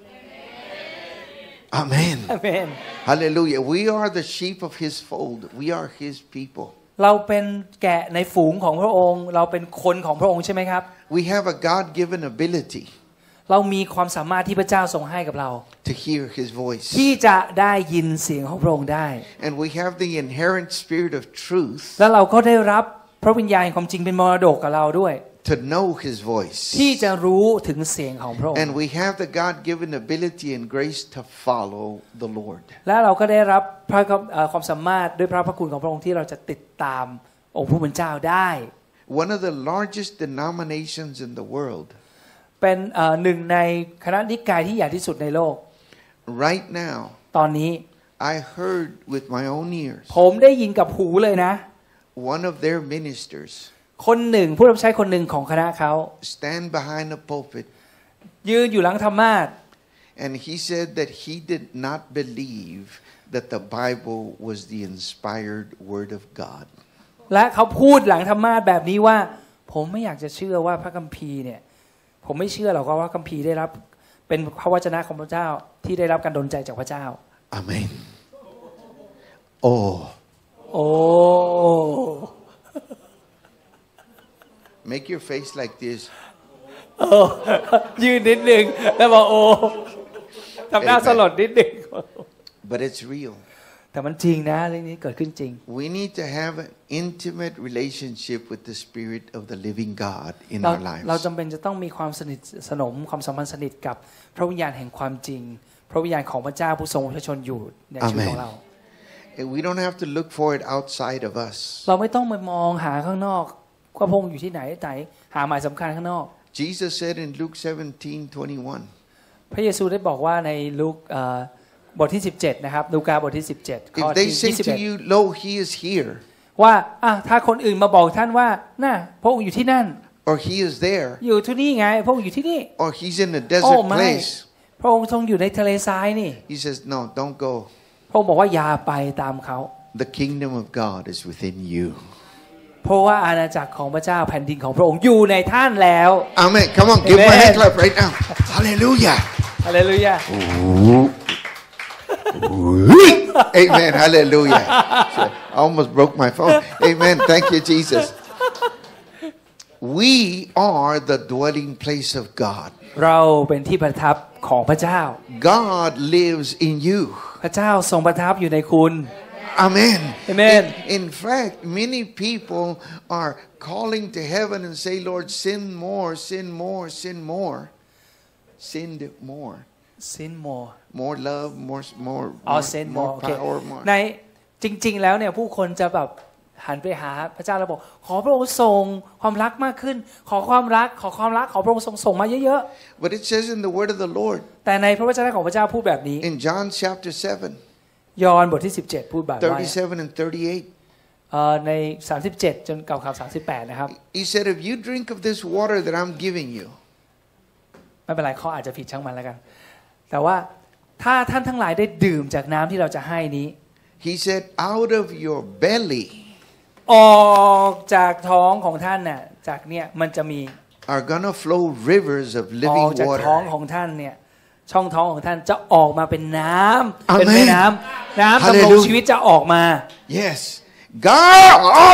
Amen Amen Hallelujah We are the sheep of his fold We are his people เราเป็นแกะในฝูงของพระองค์เราเป็นคนของพระองค์ใช่ไหมครับ We have a God-given ability เรามีความสามารถที่พระเจ้าทรงให้กับเรา to hear his voice ที่จะได้ยินเสียงของพระองค์ได้ and we have the inherent spirit of truth แล้วเราก็ได้รับพระวิญญาณความจริงเป็นมรดกกับเราด้วย to know His voice ที่จะรู้ถึงเสียงของพระองค์ and we have the God-given ability and grace to follow the Lord และเราก็ได้รับพระความสามารถด้วยพระพระคุณของพระองค์ที่เราจะติดตามองค์ผู้เป็นเจ้าได้ One of the largest denominations in the world เป็นหนึ่งในคณะนิกายที่ใหญ่ที่สุดในโลก Right now ตอนนี้ I heard with my own ears ผมได้ยินกับหูเลยนะ one of their ministers คนหนึ่งผู้รับใช้คนหนึ่งของคณะเขา stand behind the pulpit ยืนอยู่หลังธรรมาสน์ and he said that he did not believe that the Bible was the inspired word of God และเขาพูดหลังธรรมาสน์แบบนี้ว่าผมไม่อยากจะเชื่อว่าพระคัมภีร์เนี่ยผมไม่เชื่อหรอกว่าพระคัมภีร์ได้รับเป็นพระวจนะของพระเจ้าที่ได้รับการดลใจจากพระเจ้าอาเมนโอ้โอ้ make your face like this โอ้ยืนนิดนึงแล้วบอกโอ้ทำหน้าสลดนิดนึง but it's real แต่มันจริงนะเรื่องนี้เกิดขึ้นจริง we need to have an intimate relationship with the Spirit of the living God in our lives เราจำเป็นจะต้องมีความสนิทสนมความสัมพันธ์สนิทกับพระวิญญาณแห่งความจริงพระวิญญาณของพระเจ้าผู้ทรงพระชนอยู่ในชีวิตของเรา we don't have to look for it outside of us เราไม่ต้องไปมองหาข้างนอกว่าพระองค์อยู่ที่ไหนไหนหาหมายสำคัญข้างนอก Jesus said in Luke seventeen twenty-one พระเยซูได้บอกว่าในลูกบทที่สิบเจ็ดนะครับลูกาบทที่สิบเจ็ดข้อที่ยี่สิบเอ็ด If they say to you, Lo, he is here ว่าถ้าคนอื่นมาบอกท่านว่าน่ะพระองค์อยู่ที่นั่น or he is there อยู่ที่นี่ไงพระองค์อยู่ที่นี่ or he's in a desert place พระองค์ทรงอยู่ในทะเลทรายนี่ He says no don't go พระองค์บอกว่าอย่าไปตามเขา The kingdom of God is within you เพราะว่าอาณาจักรของพระเจ้าแผ่นดินของพระองค์อยู่ในท่านแล้ว Amen come on give my hand clap right now Hallelujah Hallelujah Amen Hallelujah I almost broke my phone Amen thank you Jesus We are the dwelling place of God เราเป็นที่ประทับของพระเจ้า God lives in you พระเจ้าทรงประทับอยู่ในคุณ Amen Amen in, in fact many people are calling to heaven and say Lord sin more sin more sin more sin more sin more more love more more more sin more power more ในจริงๆแล้วเนี่ยผู้คนจะแบบหันไปหาพระเจ้าแล้วบอกขอพระองค์ส่งความรักมากขึ้นขอความรักขอความรักขอพระองค์ส่งส่งมาเยอะๆ But it says in the word of the Lord แต่ในพระวจนะของพระเจ้าพูดแบบนี้ In John chapter seven ยอห์นบทที่สิบเจ็ดพูดแบบว่า thirty-seven and thirty-eight เอ่อในสามสิบเจ็ดจนเก่าข่าวสามสิบแปดนะครับ He said if you drink of this water that I'm giving you ไม่เป็นไรข้ออาจจะผิดช่างมันแล้วกันแต่ว่าถ้าท่านทั้งหลายได้ดื่มจากน้ำที่เราจะให้นี้ He said out of your belly ออกจากท้องของท่านน่ะจากเนี่ยมันจะมี are gonna flow rivers of อ living อกจากท้อง water ของท่านเนี่ยช่องท้องของท่านจะออกมาเป็นน้ำ Amen เป็นแม่น้ำน้ำดำรงชีวิตจะออกมา Yes God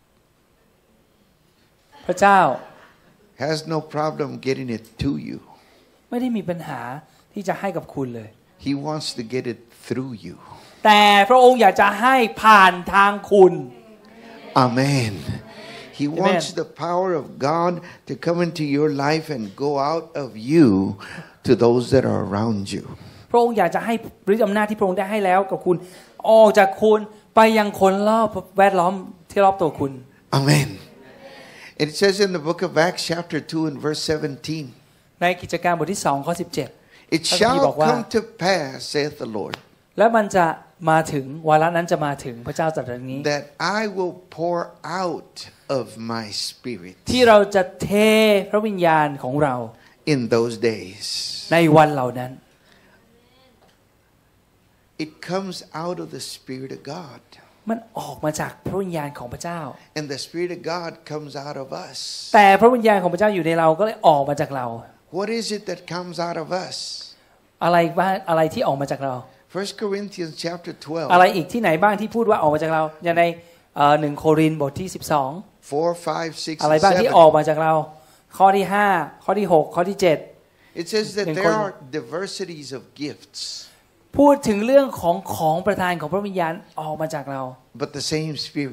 พระเจ้า has no problem getting it to you ไม่ได้มีปัญหาที่จะให้กับคุณเลย He wants to get it through you แต่พระองค์อยากจะให้ผ่านทางคุณ Amen He Amen. wants the power of God to come into your life and go out of you to those that are around you พระองค์อยากจะให้ฤทธิ์อำนาจที่พระองค์ได้ให้แล้วกับคุณออกจากคุณไปยังคนรอบแวดล้อมที่รอบตัวคุณ Amen It says in the book of Acts chapter two and verse seventeen ในกิจการบทที่สองข้อสิบเจ็ด It shall come to pass saith the Lord และมันจะมาถึงวาระนั้นจะมาถึงพระเจ้าตรัสอย่างนี้ that I will pour out of my spirit ที่เราจะเทพระวิญญาณของเรา in those days ในวันเหล่านั้น It comes out of the Spirit of God มันออกมาจากพระวิญญาณของพระเจ้า and the Spirit of God comes out of us แต่พระวิญญาณของพระเจ้าอยู่ในเราก็เลยออกมาจากเรา What is it that comes out of us อะไรบ้างอะไรที่ออกมาจากเรา First Corinthians chapter twelve อะไรอีกที่ไหนบ้างที่พูดว่าออกมาจากเราอย่างในหนึ่งโครินธ์บทที่สิบสอง four five six อะไรบ้างที่ออกมาจากเราข้อที่ห้าข้อที่หกข้อที่เจ็ด It says that there are diversities of gifts พูดถึงเรื่องของของประทานของพระวิญญาณออกมาจากเรา but the same Spirit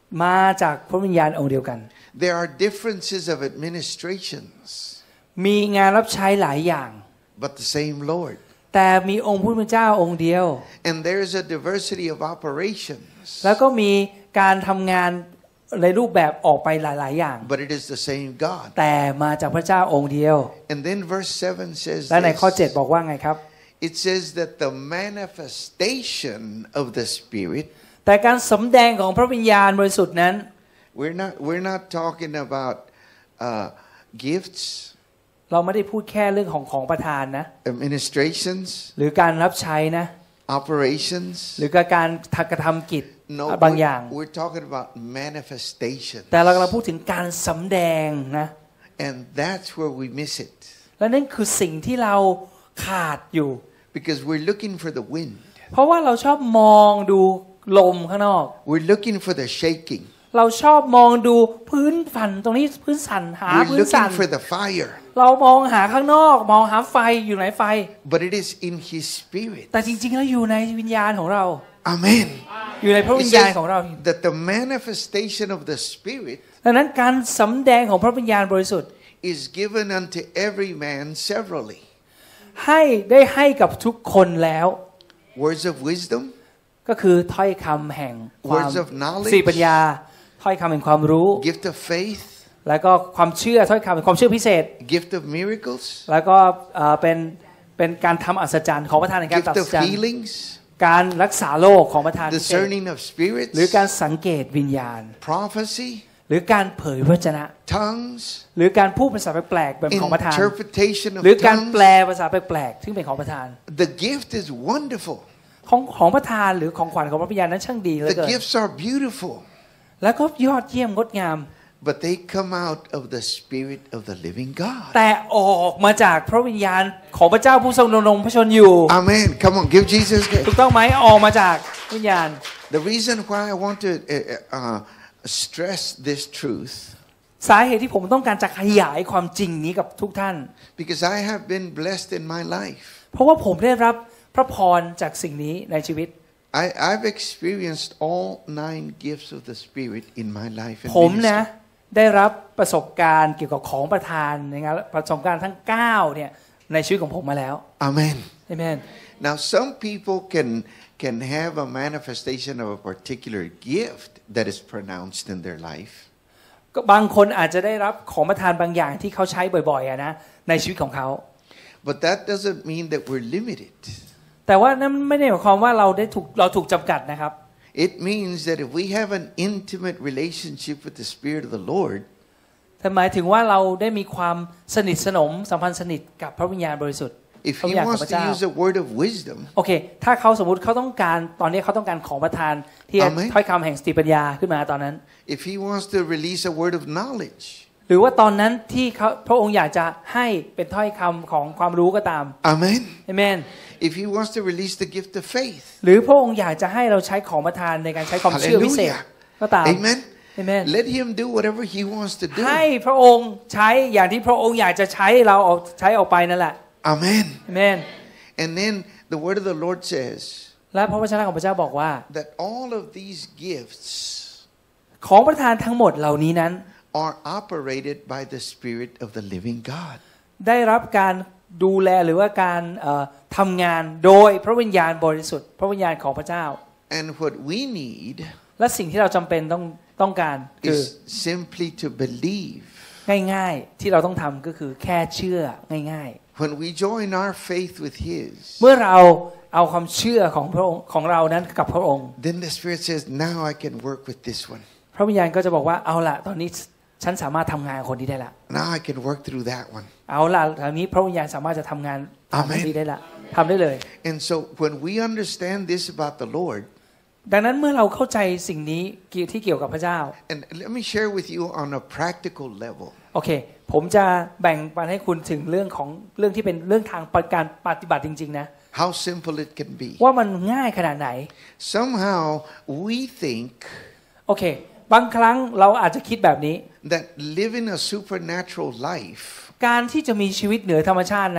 มาจากพระวิญญาณองค์เดียวกัน There are differences of administrations, มีงานรับใช้หลายอย่าง but the same Lord. แต่มีองค์พระผู้เป็นเจ้าองค์เดียว And there is a diversity of operations, แล้วก็มีการทำงานในรูปแบบออกไปหลายๆอย่าง but it is the same God. แต่มาจากพระเจ้าองค์เดียว And then verse seven says และในข้อ this. เจ็ดบอกว่าไงครับ It says that the manifestation of the Spirit, แต่การสำแดงของพระวิญญาณบริสุทธิ์นั้น we're not we're not talking about uh, gifts, เราไม่ได้พูดแค่เรื่องของของประทานนะ administrations, หรือการรับใช้นะ operations. หรือการกระทำกิจ No, บางอย่าง we're, we're talking about manifestation. แต่เรากำลังพูดถึงการสำแดงนะ And that's where we miss it. และนั่นคือสิ่งที่เราขาดอยู่ Because we're looking for the wind. เพราะว่าเราชอบมองดูลมข้างนอก We're looking for the shaking. เราชอบมองดูพื้นสั่นตรงนี้พื้นสั่นหา We're พื้นสั่น looking for the fire. เรามองหาข้างนอกมองหาไฟอยู่ไหนไฟ But it is in His Spirit. แต่จริงๆแล้วอยู่ในวิญญาณของเรา Amen. อยู่ในพระวิ It ญญาณ says ของเรา that the manifestation of the Spirit ดังนั้นการสำแดงของพระวิญญาณบริสุทธิ์ is given unto every man severally. ให้ได้ให้กับทุกคนแล้ว Words of wisdom, ก็คือถ้อยคำแห่งความ words of knowledge, สติปัญญาถ้อยคำแห่งความรู้ gift of faith, แล้วก็ความเชื่อถ้อยคำแห่งความเชื่อพิเศษ gift of miracles, แล้วก็เอ่อเป็นเป็นการทำอัศจรรย์ของประธานในการ gift ตัด of สิน healings, การรักษาโรคของประธานพิเศษ discerning of spirits, หรือการสังเกตวิญญาณ prophecy, หรือการเผยพระวจนะ tongues, หรือการพูดภาษาแปลกๆแบบของประธาน interpretation หรือ of การแปล tongues. ภาษาแปลกๆซึ่งเป็นของประธาน The gift is wonderful. ของของประธานหรือของขวัญของพระวิญญาณนั้นช่างดีเหลือ The เกิน gifts are beautiful, แล้วก็ยอดเยี่ยมงดงาม but they come out of the Spirit of the living God. แต่ออกมาจากพระวิญญาณของพระเจ้าผู้ทรงดำรงพระชนอยู่ Amen. Come on, give Jesus. ถูกต้องไหมออกมาจากวิญญาณ The reason why I want to uh, uh, stress this truth, สาเหตุที่ผมต้องการจะขยายความจริงนี้กับทุกท่าน because I have been blessed in my life. เพราะว่าผมได้รับพระพรจากสิ่งนี้ในชีวิต I, I've experienced all nine gifts of the Spirit in my life and ผมนะ ministry. ได้รับประสบการณ์เกี่ยวกับของประทานในงานประสบการณ์ทั้งเก้าเนี่ยในชีวิตของผมมาแล้ว Amen. เอเมน Now, some people can can have a manifestation of a particular gift that is pronounced in their life. ก็บางคนอาจจะได้รับของประทานบางอย่างที่เขาใช้บ่อยๆอะนะในชีวิตของเขา But that doesn't mean that we're limited. แต่ว่านั่นไม่ได้หมายความว่าเราได้ถูกเราถูกจำกัดนะครับ It means that if we have an intimate relationship with the Spirit of the Lord, แต่หมายถึงว่าเราได้มีความสนิทสนมสัมพันธ์สนิทกับพระวิญญาณบริสุทธิ์ if He wants to use a word of wisdom, โอเคถ้าเขาสมมุติเขาต้องการตอนนี้เขาต้องการของประทานที่ถ้อยคำแห่งสติปัญญาขึ้นมาตอนนั้น if He wants to release a word of knowledge, หรือว่าตอนนั้นที่เขาพระองค์อยากจะให้เป็นถ้อยคำของความรู้ก็ตาม Amen. เอเมน If He wants to release the gift of faith, หรือพระองค์อยากจะให้เราใช้ของประทานในการใช้ความเชื่อพิเศษ Hallelujah. ก็ตาม Amen. เอเมน Let Him do whatever He wants to do. ให้พระองค์ใช้อย่างที่พระองค์อยากจะใช้เราออกใช้ออกไปนั่นแหละ Amen. เอเมน And then the word of the Lord says และพระวจนะของพระเจ้าบอกว่า that all of these gifts ของประทานทั้งหมดเหล่านี้นั้น are operated by the Spirit of the living God. ได้รับการดูแลหรือว่าการทำงานโดยพระวิญญาณบริสุทธิ์พระวิญญาณของพระเจ้า And what we need และสิ่งที่เราจำเป็นต้องต้องการคือ is simply to believe. ง่ายๆที่เราต้องทำก็คือแค่เชื่อง่ายๆ When we join our faith with His, เมื่อเราเอาความเชื่อของพระองค์ของเรานั้นกับพระองค์ then the Spirit says, now I can work with this one. พระวิญญาณก็จะบอกว่าเอาล่ะตอนนี้ฉันสามารถทำงานคนนี้ได้ละ Now I can work through that one. เอาล่ะตอนนี้พระวิญญาณสามารถจะทำงานทำคนนี้ได้ละทำได้เลย And so when we understand this about the Lord, ดังนั้นเมื่อเราเข้าใจสิ่งนี้ที่เกี่ยวกับพระเจ้า and let me share with you on a practical level. โอเคผมจะแบ่งปันให้คุณถึงเรื่องของเรื่องที่เป็นเรื่องทางการปฏิบัติจริงๆนะ How simple it can be. ว่ามันง่ายขนาดไหน Somehow we think โอเคบางครั้งเราอาจจะคิดแบบนี้ that living a supernatural life การที่จะมีชีวิตเหนือธรรมชาตินั้น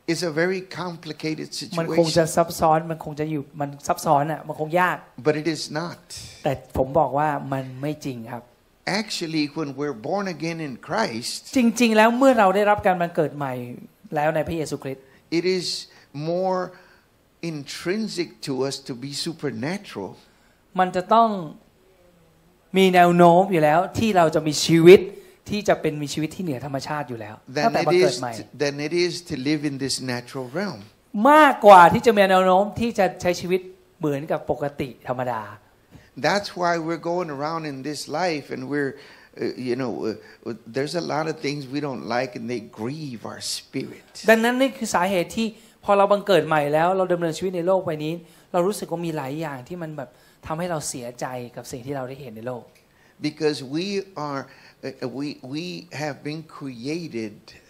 is a very complicated มันคงจะ situation. ซับซ้อนมันคงจะอยู่มันซับซ้อนอ่ะมันคงยาก But it is not. แต่ผมบอกว่ามันไม่จริงครับ Actually, when we're born again in Christ, จริงๆแล้วเมื่อเราได้รับการบังเกิดใหม่แล้วในพระเยซูคริสต์ it is more intrinsic to us to be supernatural มันจะต้องมีแนวโน้มอยู่แล้วที่เราจะมีชีวิตที่จะเป็นมีชีวิตที่เหนือธรรมชาติอยู่แล้วตั้ง than แต่ it บังเกิด is ใหม่ than it is to live in this natural realm. มากกว่าที่จะมีแนวโน้มที่จะใช้ชีวิตเหมือนกับปกติธรรมดา That's why we're going around in this life and we're uh, you know uh, there's a lot of things we don't like and they grieve our spirit. ดังนั้นนี่คือสาเหตุที่พอเราบังเกิดใหม่แล้วเราดำเนินชีวิตในโลกใบนี้เรารู้สึกว่ามีหลายอย่างที่มันแบบทำให้เราเสียใจกับสิ่งที่เราได้เห็นในโลก Because we are uh, we we have been created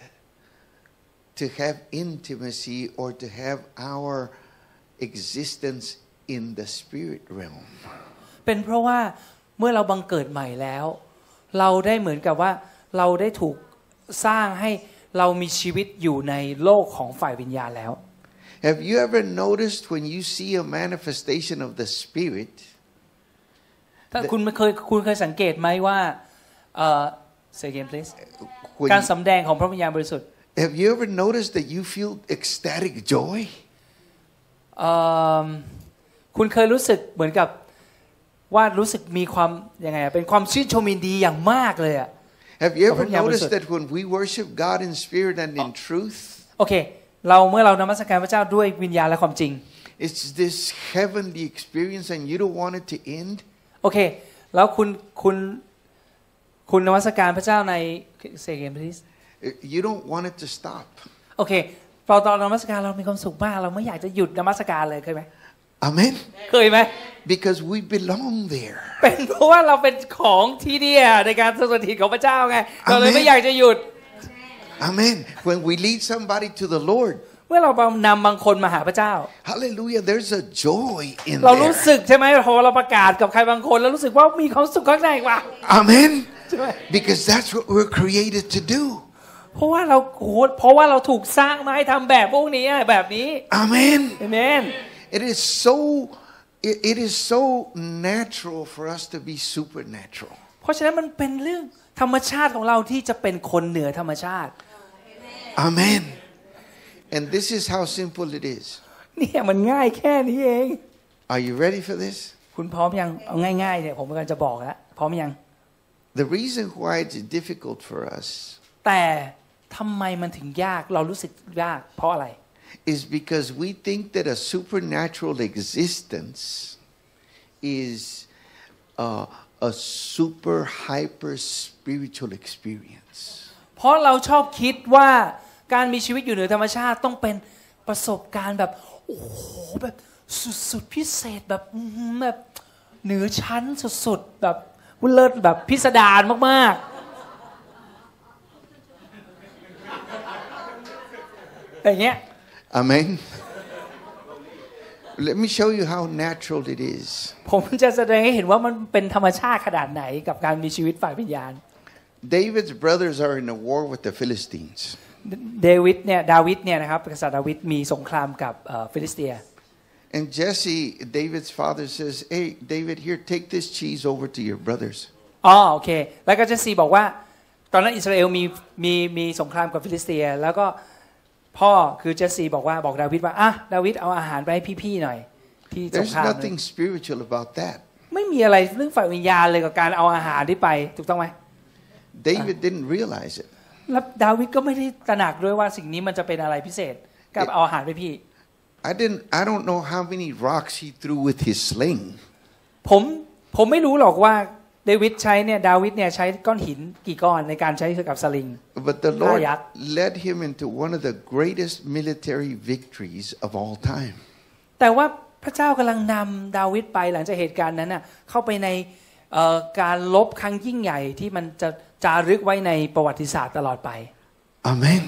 to have intimacy or to have our existence in the spirit realm. เป็นเพราะว่าเมื่อเราบังเกิดใหม่แล้วเราได้เหมือนกับว่าเราได้ถูกสร้างให้เรามีชีวิตอยู่ในโลกของฝ่ายวิญญาณแล้ว Have you ever noticed when you see a manifestation of the spirit ถ้าคุณเคยคุณเคยสังเกตไหมว่าเอ่อ say again please การสำแดงของพระวิญญาณบริสุทธิ์ Have you ever noticed that you feel ecstatic joy เอ่อคุณเคยรู้สึกเหมือนกับว่ารู้สึกมีความยังไงเป็นความชื่นชมยินดีอย่างมากเลยอะ Have you ever noticed that when we worship God in spirit and in truth โอเคเราเมื่อเรานมัสการพระเจ้าด้วยวิญญาณและความจริง it's this heavenly experience and you don't want it to end โอเคแล้วคุณคุณคุณนมัสการพระเจ้าใน say again please you don't want it to stop โอเคพอตอนนมัสการเรามีความสุขมากเราไม่อยากจะหยุดนมัสการเลยเคยไหม Amen เคยไหม because we belong there เป็นเพราะว่าเราเป็นของที่นี่ในการสถิตของพระเจ้าไงเราเลยไม่อยากจะหยุด Amen when we lead somebody to the Lord เมื่อเรานำบางคนมาหาพระเจ้า Hallelujah there's a joy in เรารู้ there สึกใช่ไหมพอเราประกาศกับใครบางคนแล้วรู้สึกว่ามีความสุขข้างในว่ะ Amen because that's what we're created to do เพราะว่าเราเพราะว่าเราถูกสร้างมาให้ทำแบบพวกนี้แบบนี้ Amen Amen it is so it, it is so natural for us to be supernatural เพราะฉะนั้นมันเป็นเรื่องธรรมชาติของเราที่จะเป็นคนเหนือธรรมชาติ Amen and this is how simple it is เนี่ยมันง่ายแค่นี้เอง Are you ready for this คุณพร้อมยังเอาง่ายๆเนี่ยผมกำลังจะบอกแล้วพร้อมยัง The reason why it's difficult for us แต่ทำไมมันถึงยากเรารู้สึกยากเพราะอะไร is because we think that a supernatural existence is uh, a super hyper spiritual experience เพราะเราชอบคิดว่าการมีชีวิตอยู่เหนือธรรมชาติต้องเป็นประสบการณ์แบบโอ้โหแบบสุดๆพิเศษแบบแบบเหนือชั้นสุดๆแบบเลิศแบบพิสดารมากๆอย่างเงี้ย Amen Let me show you how natural it is ผมจะแสดงให้เห็นว่ามันเป็นธรรมชาติขนาดไหนกับการมีชีวิตฝ่ายวิญญาณ David's brothers are in a war with the Philistines เดวิดเนี่ยดาวิดเนี่ยนะครับกษัตริย์ดาวิดมีสงครามกับฟิลิสเตีย And Jesse David's father says hey David here take this cheese over to your brothers อ๋อโอเคแล้วก็เจสซี่บอกว่าตอนนั้นอิสราเอลมีมีมีสงครามกับฟิลิสเตียแล้วก็พ่อคือเจสซี่บอกว่าบอกดาวิดว่าอ่ะดาวิดเอาอาหารไปให้พี่ๆหน่อยที่สงคราม There's nothing spiritual about that ไม่มีอะไรเรื่องฝ่ายวิญญาณเลยกับการเอาอาหารที่ไปถูกต้องไหม David didn't realize it แล้วดาวิดก็ไม่ได้ตระหนักด้วยว่าสิ่งนี้มันจะเป็นอะไรพิเศษกับเอาอาหารไปพี่ I didn't I don't know how many rocks he threw with his sling ผมผมไม่รู้หรอกว่าเดวิดใช้เนี่ยดาวิดเนี่ยใช้ก้อนหินกี่ก้อนในการใช้กับสลิง But the Lord led him into one of the greatest military victories of all time แต่ว่าพระเจ้ากำลังนำดาวิดไปหลังจากเหตุการณ์นั้นน่ะเข้าไปในการลบครั้งยิ่งใหญ่ที่มันจะจารึกไว้ในประวัติศาสตร์ตลอดไป Amen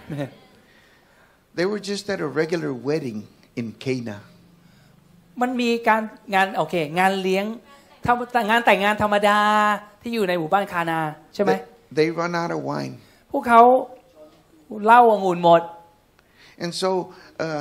They were just at a regular wedding in Cana มันมีการงานโอเคงานเลี้ยงงานแต่งงานธรรมดาที่อยู่ในหมู่บ้านคานาใช่ไหม They run out of wine พวกเขาเหล้าองุ่นหมด And so uh,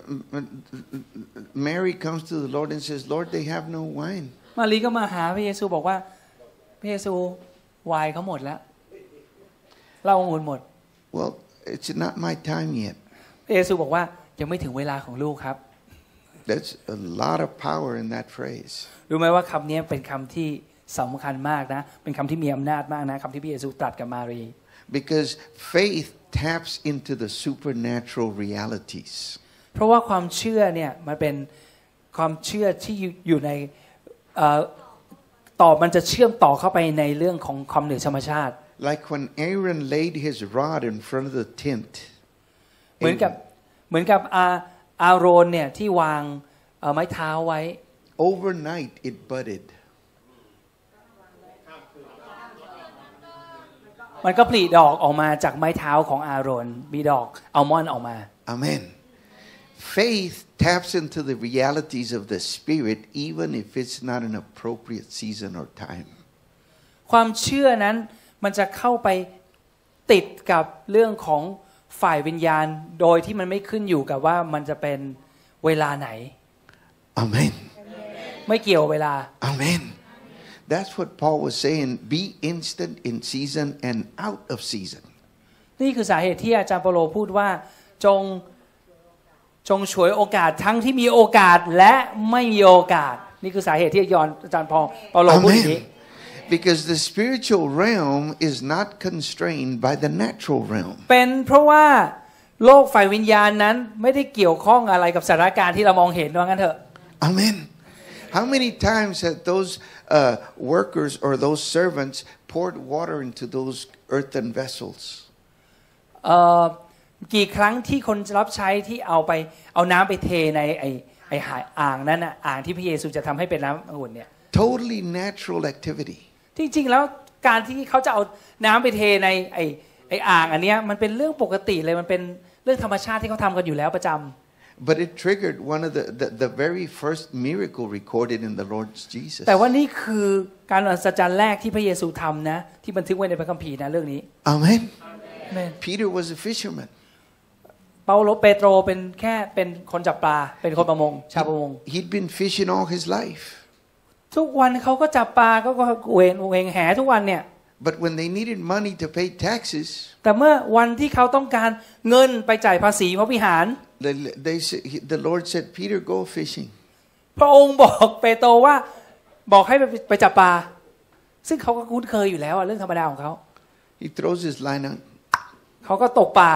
Mary comes to the Lord and says, Lord, they have no wine. มารีก็มาหาพระเยซูบอกว่าพระเยซูไวน์เขาหมดแล้วเหล้าองุ่นหมด Well, it's not my time yet. พระเยซูบอกว่ายังไม่ถึงเวลาของลูกครับ That's a lot of power in that phrase. รู้ไหมว่าคำนี้เป็นคำที่สำคัญมากนะเป็นคำที่มีอำนาจมากนะคำที่พระเยซูตรัสกับมารี Because faith taps into the supernatural realities. เพราะว่าความเชื่อเนี่ยมันเป็นความเชื่อที่อยู่ในต่อมันจะเชื่อมต่อเข้าไปในเรื่องของความเหนือธรรมชาติ Like when Aaron laid his rod in front of the tent. เหมือนกับเหมือนกับอาอาโรนเนี่ยที่วางไม้เท้าไว้ Overnight it budded. มันก็ผลิดอกออกมาจากไม้เท้าของอาโรนมีดอกอัลมอนด์ออกมา Amen. Faith taps into the realities of the Spirit even if it's not an appropriate season or time. ความเชื่อนั้นมันจะเข้าไปติดกับเรื่องของฝ่ายวิญญาณโดยที่มันไม่ขึ้นอยู่กับว่ามันจะเป็นเวลาไหน Amen. ไม่เกี่ยวเวลา Amen. That's what Paul was saying. Be instant in season and out of season. นี่คือสาเหตุที่อาจารย์เปโลพูดว่าจงจงฉวยโอกาสทั้งที่มีโอกาสและไม่มีโอกาสนี่คือสาเหตุที่ยอนอาจารย์เปโลพูดอย่างนี้ Because the spiritual realm is not constrained by the natural realm. เป็นเพราะว่าโลกฝ่ายวิญญาณนั้นไม่ได้เกี่ยวข้องอะไรกับสถานการณ์ที่เรามองเห็นว่างั้นเถอะ Amen. How many times have those uh, workers or those servants poured water into those earthen vessels? เอ่อกี่ครั้งที่คนรับใช้ที่เอาไปเอาน้ำไปเทในไอไออ่างนั้นน่ะอ่างที่พระเยซูจะทำให้เป็นน้ำองุ่นเนี่ย Totally natural activity. จริงๆแล้วการที่เขาจะเอาน้ำไปเทในไอไออ่างอันเนี้ยมันเป็นเรื่องปกติเลยมันเป็นเรื่องธรรมชาติที่เขาทำกันอยู่แล้วประจำ But it triggered one of the, the the very first miracle recorded in the Lord Jesus. แต่ว่านี่คือการอัศจรรย์แรกที่พระเยซูทำนะที่บันทึกไว้ในพระคัมภีร์นะเรื่องนี้ Amen. Amen. Peter was a fisherman. เปาโลเปโตรเป็นแค่เป็นคนจับปลาเป็นคนประมงชาวประมง He'd been fishing all his life. ทุกวันเขาก็จับปลาก็เวงเวงแหทุกวันเนี่ย But when they needed money to pay taxes, แต่เมื่อวันที่เขาต้องการเงินไปจ่ายภาษีพระวิหาร they, they the Lord said, "Peter, go fishing." พระองค์บอกเปโตรว่าบอกให้ไปไปจับปลาซึ่งเขาก็คุ้นเคยอยู่แล้วเรื่องธรรมดาของเขา He throws his line out. เขาก็ตกปลา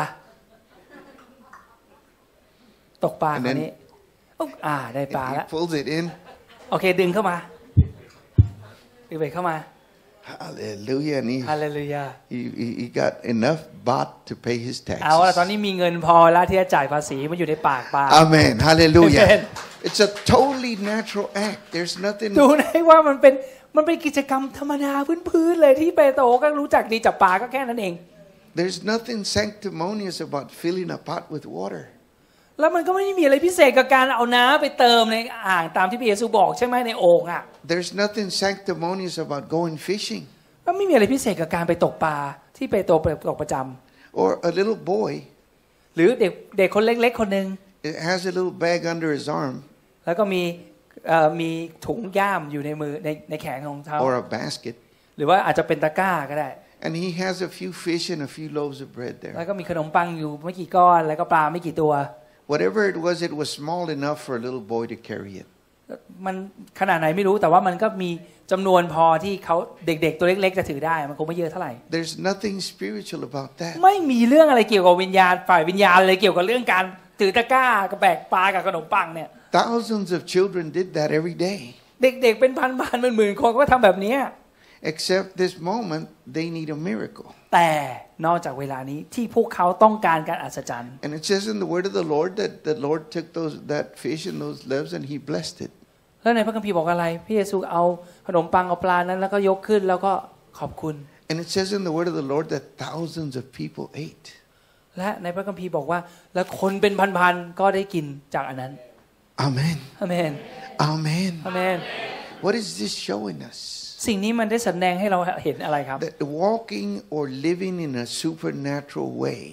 ตกปลาคราวนี้อ่าได้ปลาแล้ว He pulls it in. โอเคดึงเข้ามาดึงไปเข้ามา Hallelujah. And he, Hallelujah. he, he got enough baht to pay his เอาละตอน taxes. นี้มีเงินพอแล้วที่จะจ่ายภาษีมันอยู่ในปากปลา Amen. Hallelujah. Amen. It's a totally natural act. There's nothing. ดูนะว่ามันเป็นมันเป็นกิจกรรมธรรมดาพื้นๆเลยที่เปโตรก็รู้จักดีจับปลาก็แค่นั้นเอง There's nothing sanctimonious about filling a pot with water. แล้วมันก็ไม่ได้มีอะไรพิเศษกับการเอาน้ำไปเติมในอ่างตามที่พระเยซูบอกใช่ไหมในโอ่งอ่ะ There's nothing sanctimonious about going fishing. ก็ไม่มีอะไรพิเศษกับการไปตกปลาที่เปโตรไปตกประจำ Or a little boy หรือเด็กเด็กคนเล็กๆคนหนึ่ง has a little bag under his arm. แล้วก็มีเอ่อมีถุงย่ามอยู่ในมือในในแขนของเขา Or a basket. หรือว่าอาจจะเป็นตะกร้าก็ได้ And he has a few fish and a few loaves of bread แล้ว there. ก็มีขนมปังอยู่ไม่กี่ก้อนแล้วก็ปลาไม่กี่ตัว Whatever it was, it was small enough for a little boy to carry it. มันขนาดไหนไม่รู้แต่ว่ามันก็มีจำนวนพอที่เขาเด็กๆตัวเล็กๆจะถือได้มันคงไม่เยอะเท่าไหร่ There's nothing spiritual about that. ไม่มีเรื่องอะไรเกี่ยวกับวิญญาณฝ่ายวิญญาณเลยเกี่ยวกับเรื่องการถือตะกร้ากับแบกปลากับขนมปังเนี่ย Thousands of children did that every day. เด็กๆเป็นพันๆหมื่นๆคนก็ทำแบบนี้ Except this moment, they need a miracle. แต่นอกจากเวลานี้ที่พวกเขาต้องการการอัศจรรย์ And it says in the word of the Lord that the Lord took those that fish and those loaves and he blessed it. แล้วในพระคัมภีร์บอกอะไรพระเยซูเอาขนมปังเอาปลานั้นแล้วก็ยกขึ้นแล้วก็ขอบคุณ And it says in the word of the Lord that thousands of people ate. และในพระคัมภีร์บอกว่าและคนเป็นพันๆก็ได้กินจากอันนั้น Amen. อาเมน Amen. อาเมน What is this showing us? สิ่งนี้มันได้แสดงให้เราเห็นอะไรครับ That walking or living in a supernatural way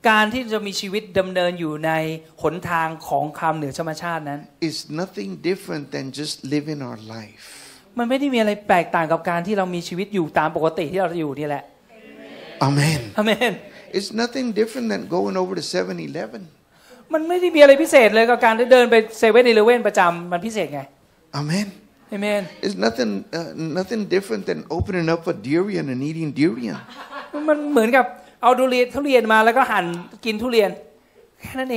การที่จะมีชีวิตดำเนินอยู่ในหนทางของความเหนือธรรมชาตินั้น is nothing different than just living our life. มันไม่ได้มีอะไรแตกต่างกับการที่เรามีชีวิตอยู่ตามปกติที่เราอยู่นี่แหละ Amen. อาเมน It's nothing different than going over to seven eleven. มันไม่ได้มีอะไรพิเศษเลยกับการได้เดินไปเซเว่นอีเลฟเว่นประจำมันพิเศษไง Amen. อาเมน It's nothing uh, nothing different than opening up a durian and eating durian. มันเหมือนกับเอาทุเรียนทุเรียนมาแล้วก็หั่นกินทุเรียนแค่นั้นเอง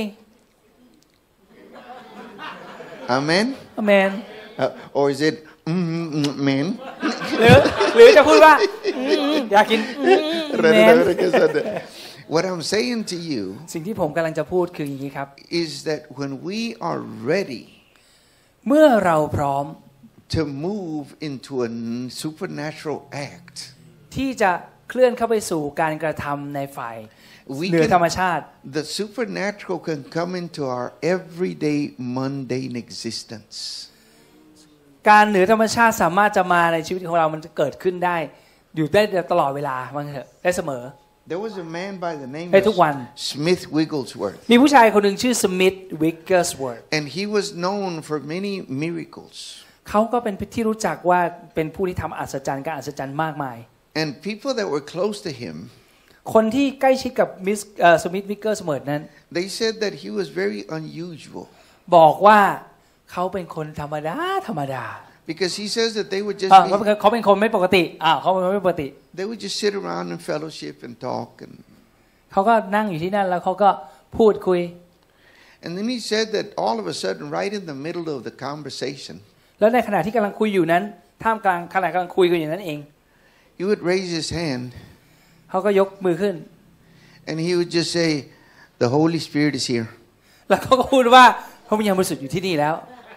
Amen. อาเมน Uh, or is it amen? หรือหรือจะพูดว่าอยากกินแมน What I'm saying to you สิ่งที่ผมกำลังจะพูดคืออย่างนี้ครับ is that when we are ready เมื่อเราพร้อม to move into a supernatural act ที่จะเคลื่อนเข้าไปสู่การกระทำในฝ่าย we เหนือ can, ธรรมชาติ the supernatural can come into our everyday mundane existence การเหนือธรรมชาติสามารถจะมาในชีวิตของเรามันจะเกิดขึ้นได้อยู่ได้ตลอดเวลาว่างั้นเถอะได้เสมอ There was a man by the name ได้ทุกวัน of Smith Wigglesworth มีผู้ชายคนหนึ่งชื่อสมิธวิกเกอร์สเวิร์ธ and he was known for many miracles เขาก็เป็นที่รู้จักว่าเป็นผู้ที่ทำอัศจรรย์การอัศจรรย์มากมาย and people that were close to him คนที่ใกล้ชิดกับมิสสมิธวิกเกอร์สเวิร์ธนั้น they said that he was very unusual บอกว่าเขาเป็นคนธรรมดาธรรมดา because he says that they would just เขาเป็นคนไม่ปกติอ่าเขาเป็นคนไม่ปกติ they would just sit around and fellowship and talk and เขาก็นั่งอยู่ที่นั่นแล้วเขาก็พูดคุย and then he said that all of a sudden right in the middle of the conversation แล้วในขณะที่กำลังคุยอยู่นั้นท่ามกลางขณะกำลังคุยกันอยู่นั้นเอง he would raise his hand เขาก็ยกมือขึ้น and he would just say the Holy Spirit is here แล้วเขาก็พูดว่าพระวิญญาณบริสุทธิ์อยู่ที่นี่แล้ว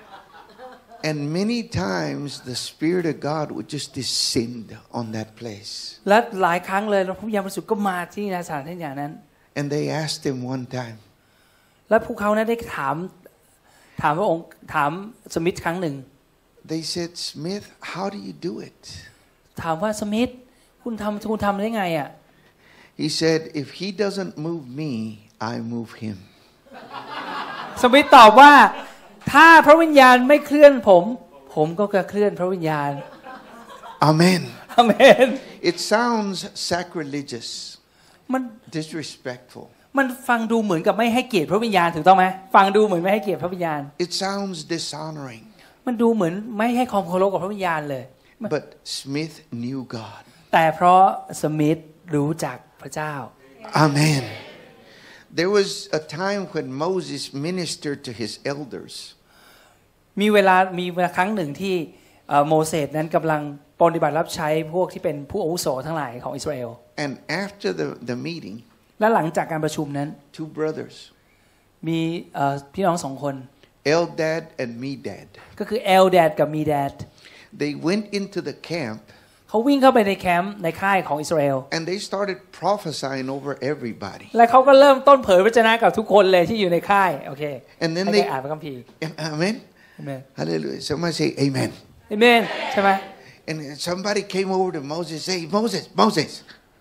and many times the Spirit of God would just descend on that place และหลายครั้งเลยพระวิญญาณบริสุทธิ์ก็มาที่สถานที่อย่างนั้น and they asked him one time และพวกเขานั้นได้ถามถามพระองค์ถามสมิธครั้งหนึ่ง they said Smith how do you do it ถามว่าสมิธคุณทำคุณทำได้ไงอ่ะ he said if he doesn't move me I move him สมิธตอบว่าถ้าพระวิญญาณไม่เคลื่อนผมผมก็จะเคลื่อนพระวิญญาณ Amen อาเมน it sounds sacrilegious มัน disrespectful มันฟังดูเหมือนกับไม่ให้เกียรติพระวิญญาณถูกต้องไหมฟังดูเหมือนไม่ให้เกียรติพระวิญญาณ it sounds dishonoring มันดูเหมือนไม่ให้ความเคารพกับพระวิญญาณเลย but Smith knew God แต่เพราะสมิธรู้จักพระเจ้า Amen There was a time when Moses ministered to his elders มีเวลามีเวลาครั้งหนึ่งที่โมเสสนั้นกำลังปฏิบัติรับใช้พวกที่เป็นผู้อาวุโสทั้งหลายของอิสราเอล and after the the meeting และหลังจากการประชุมนั้น two brothers มีพี่น้องสองคน Eldad and Medad ก็คือเอลแดดกับมีแดด they went into the camp เขาวิ่งเข้าไปในแคมป์ในค่ายของอิสราเอล and they started prophesying over everybody และเขาก็เริ่มต้นเผยพระวจนะกับทุกคนเลยที่อยู่ในค่ายโอเค and then ให้ they อ่านพระคัมภีร์ Amen Amen Hallelujah somebody say Amen Amen ใช่ไหม and somebody came over to Moses say Moses Moses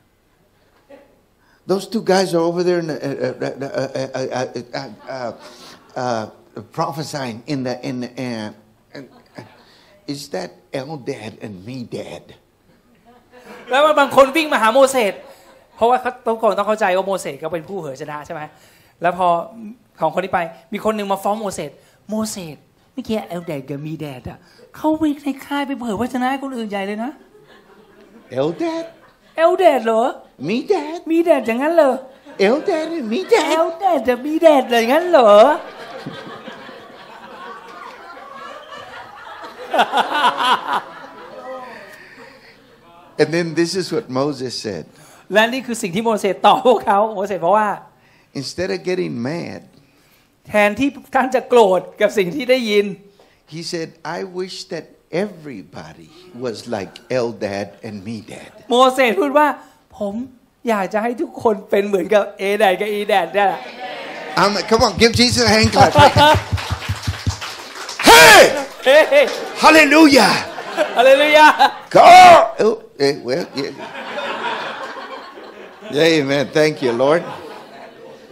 those two guys are over there in the, uh, uh, uh, uh, uh, uh, uh, prophesying in the in the uh, uh, is that Eldad and Medad แล้วบางคนวิ่งมาหาโมเสสเพราะว่าเขาต้องต้องเข้าใจว่าโมเสสก็เป็นผู้เผยชนะใช่ไหมแล้วพอของคนนี้ไปมีคนหนึ่งมาฟ้องโมเสสโมเสสเมื่อกี้เอลแดดกับมีแดดอ่ะเขาไปในค่ายไปเผยพระชนะให้คนอื่นใหญ่เลยนะ Eldad เอลแดดเหรอ Medad มีแดดอย่างนั้นเหรอ Eldad and Medad เอลแดดกับมีแดดอย่างนั้นเหรอ And then this is what Moses said และนี่คือสิ่งที่โมเสสตอบพวกเขาโมเสสบอกว่า instead of getting mad แทนที่ท่านจะโกรธกับสิ่งที่ได้ยิน he said I wish that everybody was like Eldad and Medad โมเสสพูดว่าผมอยากจะให้ทุกคนเป็นเหมือนกับเอแดดกับอีแดดได้ um, come on give Jesus a hand clap hey hey hallelujah hallelujah go oh, hey, well yeah. Yeah, amen thank you Lord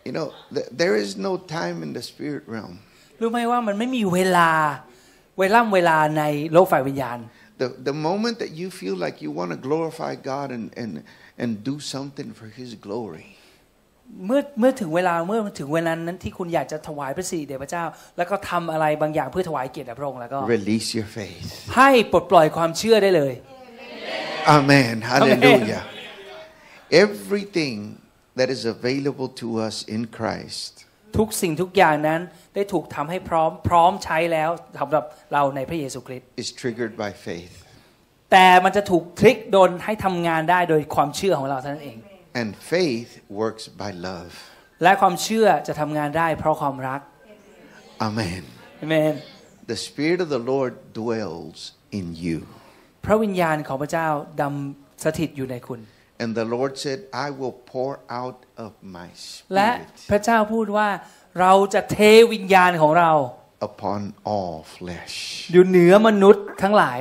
You know, th- there is no time in the spirit realm. รู้ไหมว่ามันไม่มีเวลาเวล่ำเวลาในโลกฝ่ายวิญญาณ The the moment that you feel like you want to glorify God and and and do something for His glory. เมื่อเมื่อถึงเวลาเมื่อถึงเวลานั้นที่คุณอยากจะถวายพระสิริแด่พระเจ้าแล้วก็ทำอะไรบางอย่างเพื่อถวายเกียรติแด่พระองค์แล้วก็ Release your faith. ให้ปลดปล่อยความเชื่อได้เลย Amen. Hallelujah. Everything that is available to us in Christ ทุกสิ่งทุกอย่างนั้นได้ถูกทำให้พร้อมพร้อมใช้แล้วสำหรับเราในพระเยซูคริสต์ is triggered by faith. แต่มันจะถูกทริกโดนให้ทำงานได้โดยความเชื่อของเราเท่านั้นเอง And faith works by love. และความเชื่อจะทำงานได้เพราะความรัก Amen. Amen. The Spirit of the Lord dwells in you. พระวิญญาณของพระเจ้าดำสถิตอยู่ในคุณ And the Lord said, I will pour out of my และ Spirit พระเจ้าพูดว่าเราจะเทวิญญาณของเรา upon all flesh. อยู่เหนือมนุษย์ทั้งหลาย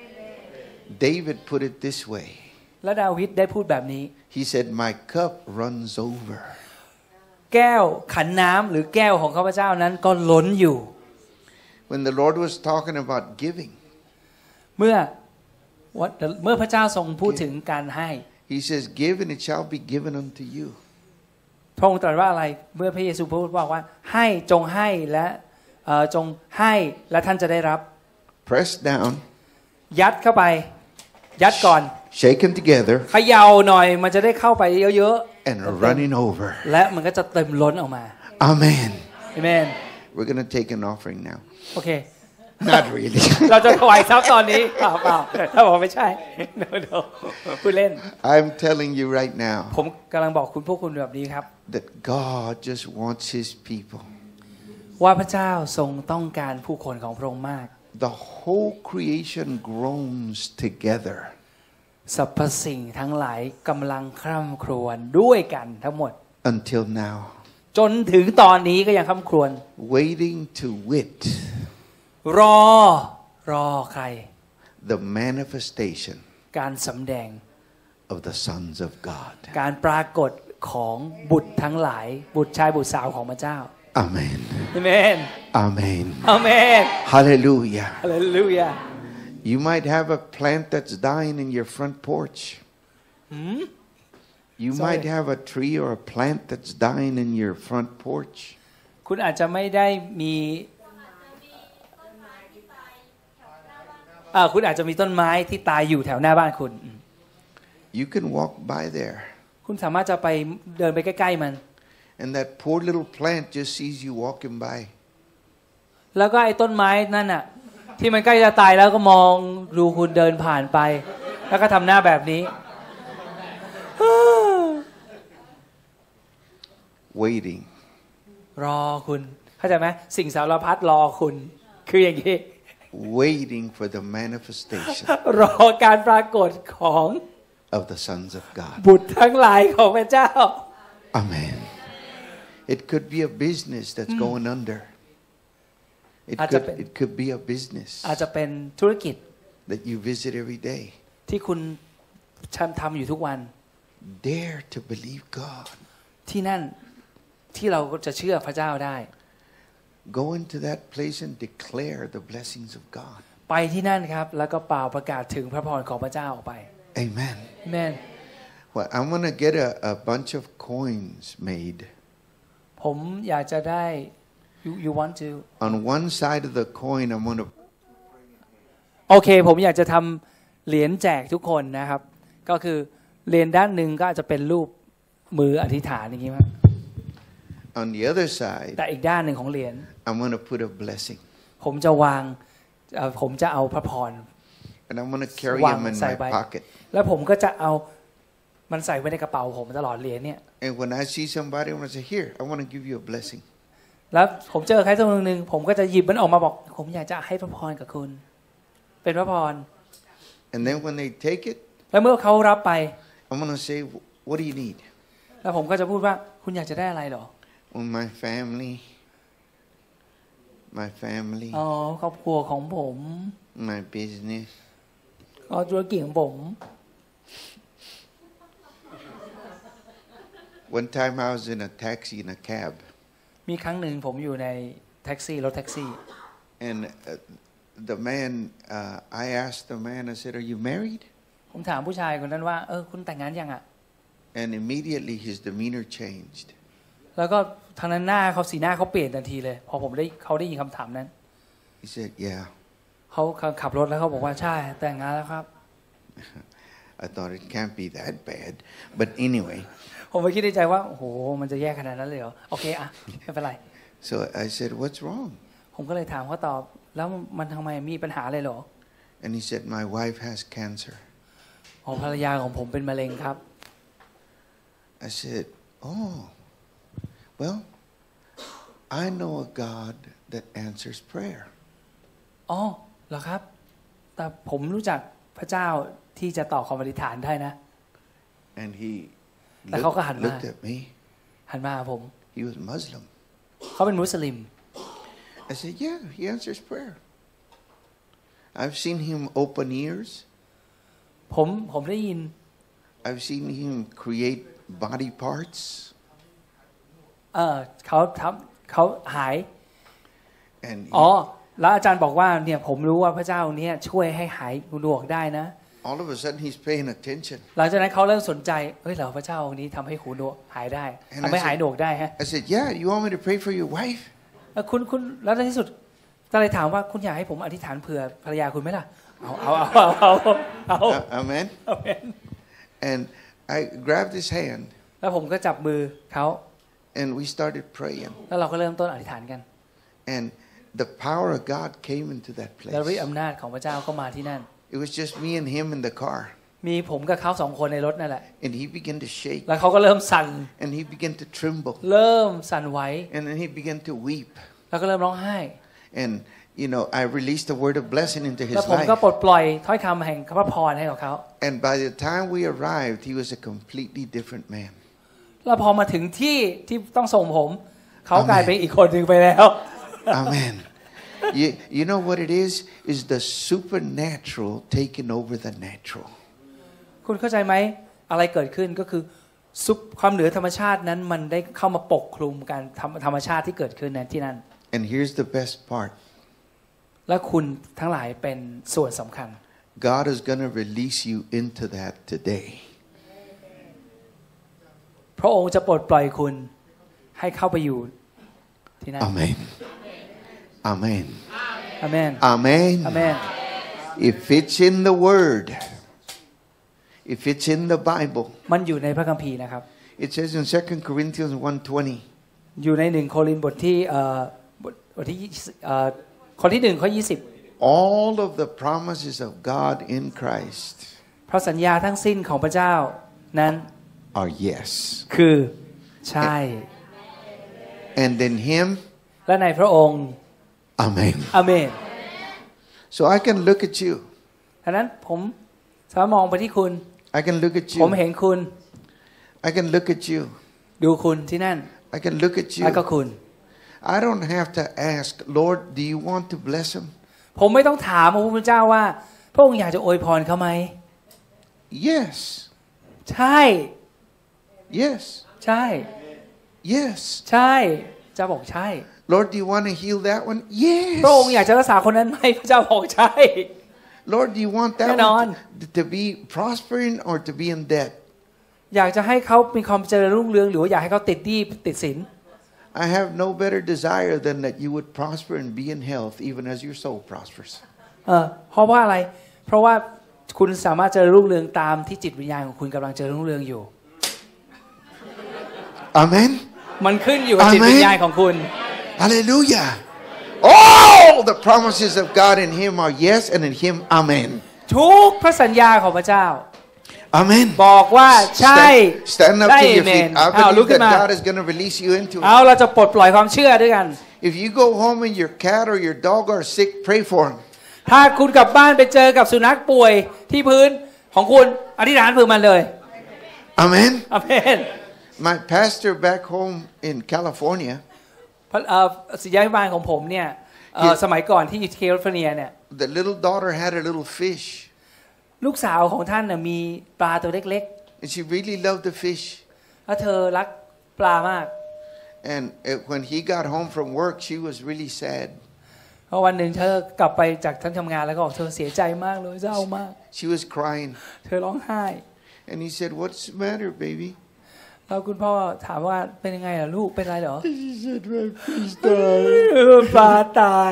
David put it this way. และดาวิดได้พูดแบบนี้ He said, my cup runs over. แก้วขันน้ำหรือแก้วของข้าพเจ้านั้นก็ล้นอยู่ When the Lord was talking about giving, เมื่อเมื่อพระเจ้าทรงพูดถึงการให้ He says, give and it shall be given unto you. พระองค์ตรัสว่าอะไรเมื่อพระเยซูพูดบอกว่าให้จงให้และจงให้และท่านจะได้รับ Press down, ยัดเข้าไปยัดก่อน shake them together, เขย่าหน่อยมันจะได้เข้าไปเยอะๆ and running over. และมันก็จะเต็มล้นออกมา Amen. Amen. We're going to take an offering now. โอเค Not really. เราจะถวายทรัพย์ตอนนี้เปล่าเปล่าถ้าบอกไม่ใช่ no no พูดเล่น I'm telling you right now ผมกำลังบอกคุณพวกคุณแบบนี้ครับ that God just wants His people. ว่าพระเจ้าทรงต้องการผู้คนของพระองค์มาก The whole creation groans together. สรรพสิ่งทั้งหลายกำลังคร่ำครวญด้วยกันทั้งหมด Until now. จนถึงตอนนี้ก็ยังคร่ำครวญ Waiting to wit. รอรอใคร The manifestation การสำแดง of the sons of God. การปรากฏของบุตรทั้งหลายบุตรชายบุตรสาวของพระเจ้า Amen. Amen. Amen. Amen. Hallelujah. Hallelujah. You might have a plant that's dying in your front porch. Hmm? You Sorry. might have a tree or a plant that's dying in your front porch. คุณอาจจะไม่ได้มีอ่าคุณอาจจะมีต้นไม้ที่ตายอยู่แถวหน้าบ้านคุณ You can walk by there. คุณสามารถจะไปเดินไปใกล้ๆมัน And that poor little plant just sees you walking by. แล้วก็ไอ้ต้นไม้นั่นน่ะที่มันใกล้จะตายแล้วก็มองดูคุณเดินผ่านไปแล้วก็ทำหน้าแบบนี้ Waiting. รอคุณเข้าใจไหมสิ่งสารพัดรอคุณคืออย่างนี้ Waiting for the manifestation รอการปรากฏของ of the sons of God. บุตรทั้งหลายของพระเจ้า Amen. It could be a business that's going under. It อาจจะ could เป็น it could be a business อาจจะเป็นธุรกิจ that you visit every day. ที่คุณทำอยู่ทุกวัน Dare to believe God. ที่นั่นที่เราจะเชื่อพระเจ้าได้ Go into that place and declare the blessings of God. ไปที่นั่นครับแล้วก็เป่าประกาศถึงพระพรของพระเจ้าออกไป Amen. Amen. Well, I'm going to get a, a bunch of coins made. ผมอยากจะได้ you you want to On one side of the coin, I'm going to โอเคผมอยากจะทำเหรียญแจกทุกคนนะครับก็คือเหรียญด้านหนึ่งก็อาจจะเป็นรูปมืออธิษฐานอย่างนี้มั้ย On the other side, แต่อีกด้านหนึ่งของเหรียญ I'm going to put a blessing. ผมจะวางผมจะเอาพระพร And I'm going to carry them in my pocket. แล้วผมก็จะเอามันใส่ไว้ในกระเป๋าผมตลอดเหรียญเนี่ย And when I see somebody, I'm going to say, here, I want to give you a blessing. แล้วผมเจอใครสักคนหนึ่งผมก็จะหยิบมันออกมาบอกผมอยากจะให้พระพรกับคุณเป็นพระพร And then when they take it, แล้วเมื่อเขารับไป I'm going to say, what do you need? แล้วผมก็จะพูดว่าคุณอยากจะได้อะไรหรอ Oh, my family. My family. อ๋อครอบครัวของผม My business. อ๋อธุรกิจของผม One time I was in a taxi in a cab. มีครั้งหนึ่งผมอยู่ในแท็กซี่รถแท็กซี่ And uh, the man, uh, I asked the man, I said, "Are you married?" ผมถามผู้ชายคนนั้นว่าเออคุณแต่งงานยังอ่ะ And immediately his demeanor changed. แล้วก็ทางนั้นหน้าเขาสีหน้าเขาเปลี่ยนทันทีเลยพอผมได้เขาได้ยินคำถามนั้น He said, "Yeah." เขาขับรถแล้วเขาบอกว่าใช่แต่งงานแล้วครับ I thought it can't be that bad, but anyway. ผมไปคิดในใจว่าโอ้โหมันจะแย่ขนาดนั้นเลยเหรอโอเคอ่ะไม่เป็นไร So I said, "What's wrong?" ผมก็เลยถามเขาตอบแล้วมันทำไมมีปัญหาเลยเหรอ And he said, "My wife has cancer." อ๋อภรรยาของผมเป็นมะเร็งครับ I said, "Oh, well, I know a God that answers prayer." อ๋อเหรอครับแต่ผมรู้จักพระเจ้าที่จะตอบคำอธิษฐานได้นะ And he แต่เขาก็หัน looked, มา looked at me. หันมาหาผม He was Muslim. เขาเป็นมุสลิม I said, "Yeah, he answers prayer. I've seen him open ears. ผมผมได้ยิน I've seen him create body parts." เออเขาทำเขาหาย And he, อ๋อแล้วอาจารย์บอกว่าเนี่ยผมรู้ว่าพระเจ้าเนี่ยช่วยให้หายหูหนวกได้นะ all of a sudden he's paying attention. หลังจากนั้นเขาเริ่มสนใจเฮ้ยเหรอพระเจ้าองค์นี้ทำให้หูหนวกหายได้ทำให้หายหนวกได้ฮะ I said, "Yeah, you want me to pray for your wife?" คุณคุณแล้วในที่สุดก็เลยถามว่าคุณอยากให้ผมอธิษฐานเผื่อภรรยาคุณไหมล่ะเอาเอาเอาเอาเอา Amen. Amen. And I grabbed his hand แล้วผมก็จับมือเขา and we started praying. แล้วเราก็เริ่มต้นอธิษฐานกัน And the power of God came into that แล้วฤท place. ธิ์อำนาจของพระเจ้าก็มาที่นั่น It was just me and him in the car. มีผมกับเขาสองคนในรถนั่นแหละ And he began to shake แล้วเขาก็เริ่มสั่น and he began to tremble เริ่มสั่นไหว and then he began to weep. แล้วก็เริ่มร้องไห้ And you know, I released a word of blessing into แล้ว his ผมก็ life. ปลดปล่อยถ้อยคำแห่งพระพรให้กับเขา And by the time we arrived, he was a completely different man. แล้วพอมาถึงที่ที่ต้องส่งผมเขากลายเป็นอีกคนหนึ่งไปแล้ว Amen. You, you know what it is? Is the supernatural taking over the natural. คุณเข้าใจไหมอะไรเกิดขึ้นก็คือซุปความเหนือธรรมชาตินั้นมันได้เข้ามาปกคลุมการธรรมชาติที่เกิดขึ้นในที่นั่น And here's the best part. และคุณทั้งหลายเป็นส่วนสำคัญ God is going to release you into that today. พระองค์จะปลดปล่อยคุณให้เข้าไปอยู่ที่นั่น Amen. Amen. อาเมน Amen. อาเมน If it's in the Word, if it's in the Bible, มันอยู่ในพระคัมภีร์นะครับ it says in Second Corinthians one twenty. อยู่ในหนึ่งโครินธ์บทที่เอ่อบทบทที่เอ่อคนที่หนึ่งข้อยี่สิบ All of the promises of God in Christ เพราะสัญญาทั้งสิ้นของพระเจ้านั้น are yes. คือใช่ And in Him, และในพระองค์ Amen. อาเมน So I can look at you. ฉะนั้นผมสามารถมองไปที่คุณ I can look at ผม you. เห็นคุณ I can look at you. ดูคุณที่นั่น I can look at แล้วก็ you. คุณ I don't have to ask, Lord, do you want to bless him? ผมไม่ต้องถามพระพุทธเจ้าว่าพระองค์อยากจะอวยพรเขาไหม Yes. ใช่ Yes. ใช่ Yes. ใช่จะบอกใช่ Lord, do you want to heal that one? พระองค์อยาก Yes. จะรักษาคนนั้นไหมพระเจ้าบอกใช่ Lord, do you want that Come one on. to, to be prospering or to be in debt? อยากจะให้เขามีความเจริญรุ่งเรืองหรือว่าอยากให้เขาติดหนี้ติดสิน I have no better desire than that you would prosper and be in health even as your soul prospers. เออเพราะว่าอะไรเพราะว่าคุณสามารถเจริญรุ่งเรืองตามที่จิตวิญญาณของคุณกำลังเจริญรุ่งเรืองอยู่ Amen. มันขึ้นอยู่กับจิตวิญญาณของคุณ Hallelujah. All the promises of God in him are yes and in him amen. ทุกพระสัญญาของพระเจ้า Amen. บอกว่าใช่ Stand, stand up to your feet. I เอาลุก believe ขึ้น that มา God is going to release you into เอา it. เราจะปลดปล่อยความเชื่อด้วยกัน If you go home and your cat or your dog are sick, pray for him. ถ้าคุณกลับบ้านไปเจอกับสุนัขป่วยที่พื้นของคุณอธิษฐานเพื่อมันเลย Amen. อาเมน My pastor back home in California, พระเอ่อศิษยาภิบาลของผมเนี่ยเอ่อสมัยก่อนที่อยู่แคลิฟอร์เนียเนี่ย the little daughter had a little fish, ลูกสาวของท่านน่ะมีปลาตัวเล็ก and she really loved the fish. ๆแล้วเธอรักปลามาก And uh, when he got home from work, she was really sad. เพราะวันหนึ่งเธอกลับไปจากทั้งทำงานแล้วก็บอกเธอเสียใจมากเลยเศร้ามาก She was crying. เธอร้องไห้ And he said, "What's the matter, baby?" แล้วคุณพ่อถามว่าเป็นยังไงล่ะลูกเป็นไรเหรอ She said, "My fish died." ปลาตาย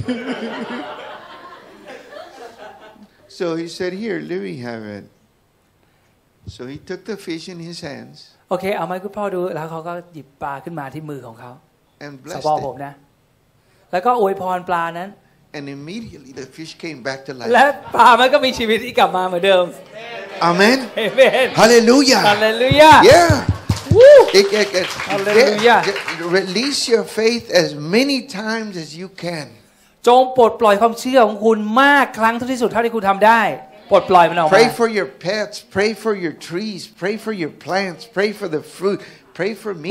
So he said, "Here, let me have it." So he took the fish in his hands โอเคเอาไหมคุณพ่อดูแล้วเขาก็หยิบปลาขึ้นมาที่มือของเขา and ส blessed ปอผม it. นะแล้วก็อวยพรปลานั้น And immediately the fish came back to และ life. ปลามันก็มีชีวิตที่กลับมาเหมือนเดิม Amen. เอเมน Hallelujah. ฮาเลลูยา Yeah. วู้ It- it- it- Hallelujah. get- get- release your faith as many times as you can. จงปลดปล่อยความเชื่อของคุณมากครั้งที่สุดเท่าที่คุณทำได้ปลดปล่อยมันออกมา Pray for your pets. Pray for your trees. Pray for your plants. Pray for the fruit. Pray for me.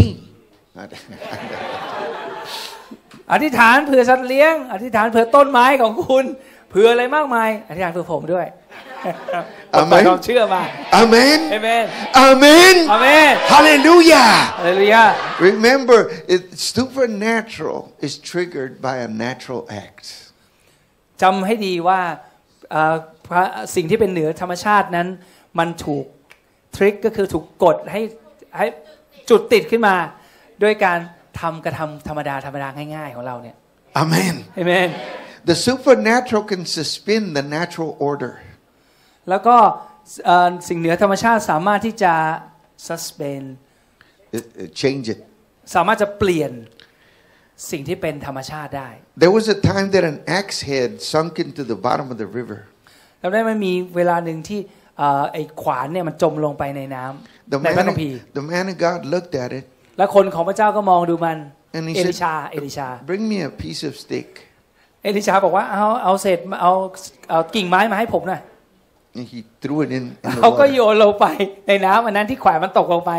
อธิษฐานเผื่อสัตว์เลี้ยงอธิษฐานเผื่อต้นไม้ของคุณเผื่ออะไรมากมายอธิษฐานเผื่อผมด้วยปลดปล่อยความเชื่อมา Amen. เอเมน Amen. อาเมน Hallelujah. ฮาเลลูยา Remember, it, supernatural is triggered by a natural act. จำให้ดีว่าเอ่อพระสิ่งที่เป็นเหนือธรรมชาตินั้นมันถูกทริกก็คือถูกกดให้ให้จุดติดขึ้นมาด้วยการทำกระทำธรรมดาธรรมดาง่ายๆของเราเนี่ย Amen. เอเมน The supernatural can suspend the natural order. แล้วก็เอ่อสิ่งเหนือธรรมชาติสามารถที่จะ suspend It, it change it. สามารถจะเปลี่ยนสิ่งที่เป็นธรรมชาติได้ There was a time that an axe head sunk into the bottom of the river. แล้วได้มันมีเวลาหนึ่งที่เอ่อไอ้ขวานเนี่ยมันจมลงไปในน้ The ำในพระ man, คัมภีร์ the man of God looked at it แล้วคนของพระเจ้าก็มองดูมัน and he เอลิ said, ชาเอลิชา "Bring me a piece of stick." เอลิชาบอกว่าเอาเอาเศษเอาเอากิ่งไม้มาให้ผมหน่อย And he threw it in, in the เขาก็ water. โยนลงไปในน้ำอันนั้นที่ขวานมันตกลงไป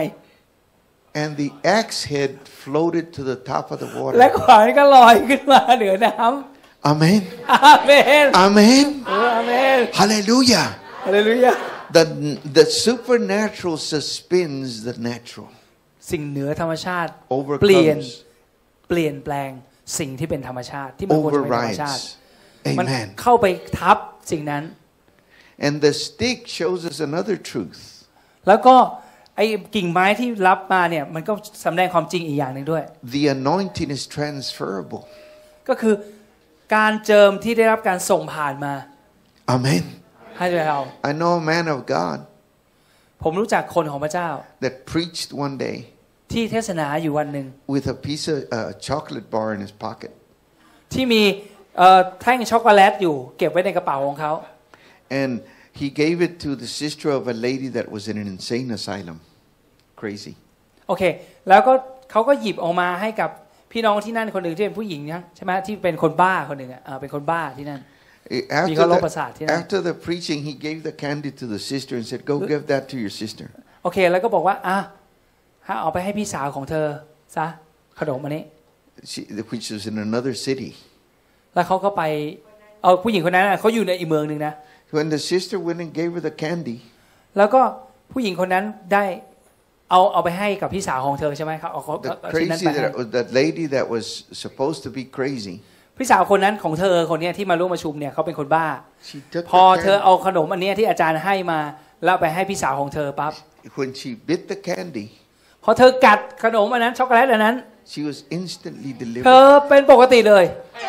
And the axe head floated to the top of the และ water. ขวานก็ลอยขึ้นมาเหนือน้ำ Amen. อาเมน Amen. อาเมน Hallelujah. ฮาเลลูยา The, the supernatural suspends the natural. สิ่งเหนือธรรมชาติเปลี่ยน Overcomes. เปลี่ยนแปลงสิ่งที่เป็นธรรมชาติที่มันควรจะเป็นธรรมชาติ Overrides. มัน Amen. เข้าไปทับสิ่งนั้น And the stick shows us another truth. แล้วก็ไอ้กิ่งไม้ที่รับมาเนี่ยมันก็แสดงความจริงอีกอย่างหนึ่งด้วย The anointing is transferable. ก็คือการเจิมที่ได้รับการส่งผ่านมา Amen. ให้เรา I know a man of God ผมรู้จักคนของพระเจ้า that preached one day ที่เทศนาอยู่วันหนึ่ง with a piece of uh, chocolate bar in his pocket. ที่มีเอ่อแท่งช็อกโกแลตอยู่เก็บไว้ในกระเป๋าของเขา And he gave it to the sister of a lady that was in an insane asylum. Crazy. โอเคแล้วก็เขาก็หยิบออกมาให้กับพี่น้องที่นั่นคนหนึ่งที่เป็นผู้หญิงนะใช่ไหมที่เป็นคนบ้าคนหนึ่งอ่ะเอ่อเป็นคนบ้าที่นั่น After the, after the preaching, he gave the candy to the sister and said, "Go give that to your sister." โอเคแล้วก็บอกว่าอ่ะให้เอาไปให้พี่สาวของเธอซะขนมอันนี้ She, which was in another city. แล้วเขาก็ไปเอาผู้หญิงคนนั้นเขาอยู่ในอีกเมืองหนึ่งนะ When the sister went and gave her the candy, แล้วก็ผู้หญิงคนนั้นได้เอาเอาไปให้กับพี่สาวของเธอใช่ไหมครับเอาเขา the เอาชิ้นนั้น crazy ไปให้ that, that lady that was supposed to be crazy, พี่สาวคนนั้นของเธอคนนี้ที่มาร่วมประชุมเนี่ยเขาเป็นคนบ้า she took พอ the เธอเอา candy. ขนมอันนี้ที่อาจารย์ให้มาแล้วไปให้พี่สาวของเธอปั๊บ When she bit the candy, พอเธอกัดขนมอันนั้นช็อกโกแลตอันนั้น she was instantly เธ delivered. อเป็นปกติเลย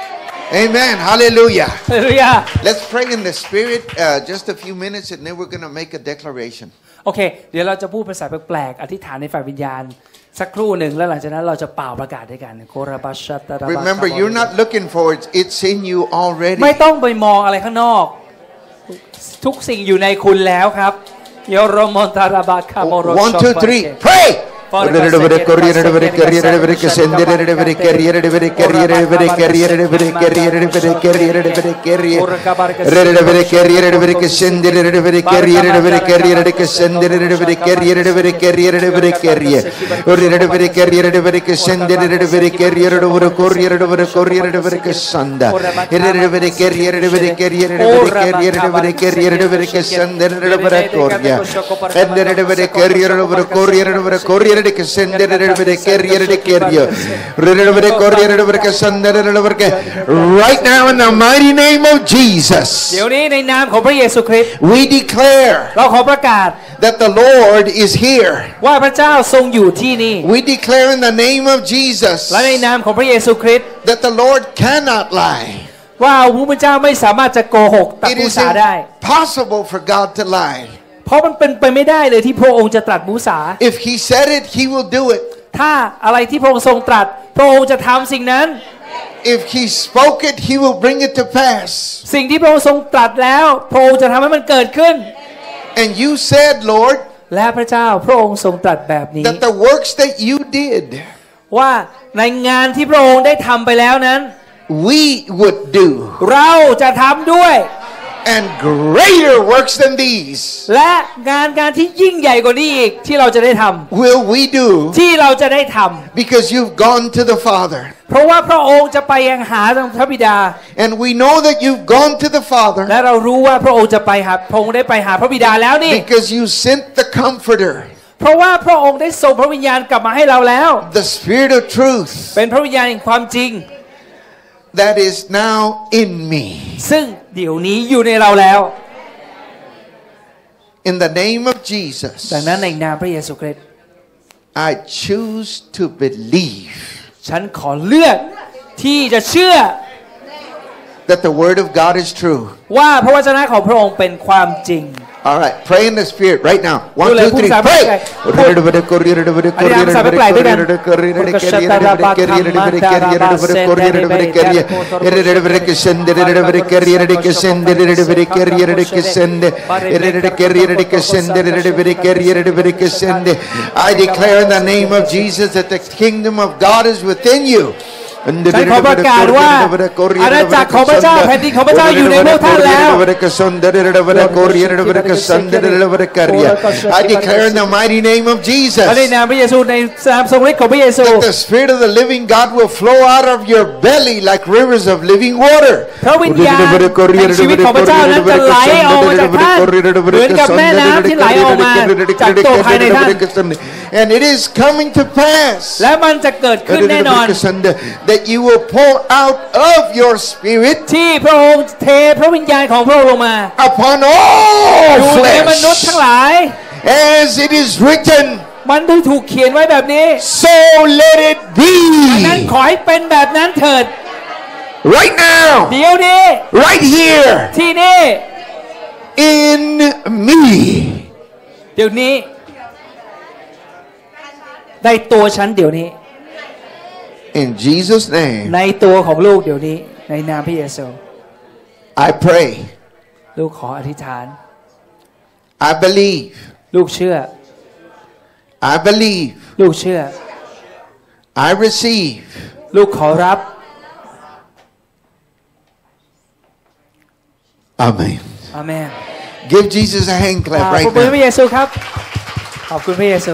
Amen. Hallelujah. ฮาเลลูยา Let's pray in the Spirit uh, just a few minutes, and then we're going to make a declaration. โอเคเดี๋ยวเราจะพูดภาษาแปลกๆอธิษฐานในฝ่ายวิญญาณสักครู่หนึ่งแล้วหลังจากนั้นเราจะเป่าประกาศด้วยกัน Remember, you're not looking for it; it's in you already. ไม่ต้องไปมองอะไรข้างนอกทุกสิ่งอยู่ในคุณแล้วครับโยโรมอนตาราบาคาโมโร One, two, three, pray. Corriere Right now in the mighty name of Jesus, เดี๋ยวนี้ในนามของพระเยซูคริสต์ we declare เราขอประกาศ that the Lord is here. ว่าพระเจ้าทรงอยู่ที่นี่ We declare in the name of Jesus และในนามของพระเยซูคริสต์ that the Lord cannot lie. ว่าพระเจ้าไม่สามารถจะโกหกตรัส It มุ is สาได้ impossible for God to lie. เพราะมันเป็นไปไม่ได้เลยที่พระองค์จะตรัสมุสา If He said it, He will do it. ถ้าอะไรที่พระองค์ทรงตรัสพระองค์จะทำสิ่งนั้น If He spoke it, He will bring it to pass. สิ่งที่พระองค์ทรงตรัสแล้วพระองค์จะทำให้มันเกิดขึ้น And you said, Lord, และพระเจ้าพระองค์ทรงตรัสแบบนี้ that the works that you did, ว่าในงานที่พระองค์ได้ทำไปแล้วนั้น we would do. เราจะทำด้วย And greater works than these และงานการที่ยิ่งใหญ่กว่านี้อีกที่เราจะได้ทำ will we do ที่เราจะได้ทำ because you've gone to the Father. เพราะว่าพระองค์จะไปยังหาทางพระบิดา And we know that you've gone to the Father และเรารู้ว่าพระองค์จะไปหาพระองค์ได้ไปหาพระบิดาแล้วนี่ because you sent the Comforter, เพราะว่าพระองค์ได้ส่งพระวิญญาณกลับมาให้เราแล้ว the Spirit of truth เป็นพระวิญญาณแห่งความจริง that is now in me. ซึ่งเดี๋ยวนี้อยู่ในเราแล้ว In the name of Jesus, ดังนั้นในนามพระเยซูคริสต์ I choose to believe ฉันขอเลือกที่จะเชื่อ that the Word of God is true. ว่าพระวจนะของพระองค์เป็นความจริง All right, pray in the Spirit right now. One, two, three, pray. I declare in the name of Jesus that the kingdom of God is within you. ฉันขอประกาศว่าอาณาจักรของพระเจ้าแผ่นดินของพระเจ้าอยู่ในพวกท่านแล้ว I declare in the mighty name of Jesus ในนามพระเยซูในนามทรงฤทธิ์ของพระเยซู that the Spirit of the living God will flow out of your belly like rivers of living water. พระวิญญาณแห่งชีวิตของพระเจ้านั้นจะไหลออกมาจากท่านเหมือนกับแม่น้ำที่ไหลออกมาจากตัวภายในท่าน And it is coming to pass และมันจะเกิดขึ้นแน่นอน that you will pour out of your spirit ที่พระองค์เทพระวิญญาณของพระองค์ลงมา upon all อยู่ในมนุษย์ทั้งหลาย as it is written มันได้ถูกเขียนไว้แบบนี้ so let it be ดังนั้นขอให้เป็นแบบนั้นเถิด right now เดี๋ยวนี้ right here ที่นี่ in me เดี๋ยวนี้ในตัวฉันเดี๋ยวนี้ in Jesus name ในตัวของลูกเดี๋ยวนี้ในนามพระเยซู I pray ลูกขออธิษฐาน I believe ลูกเชื่อ I believe ลูกเชื่อ I receive ลูกขอรับ Amen อาเมน Give Jesus a hand clap ขอบ right คุณพระ now เยซูครับขอบคุณพระเยซู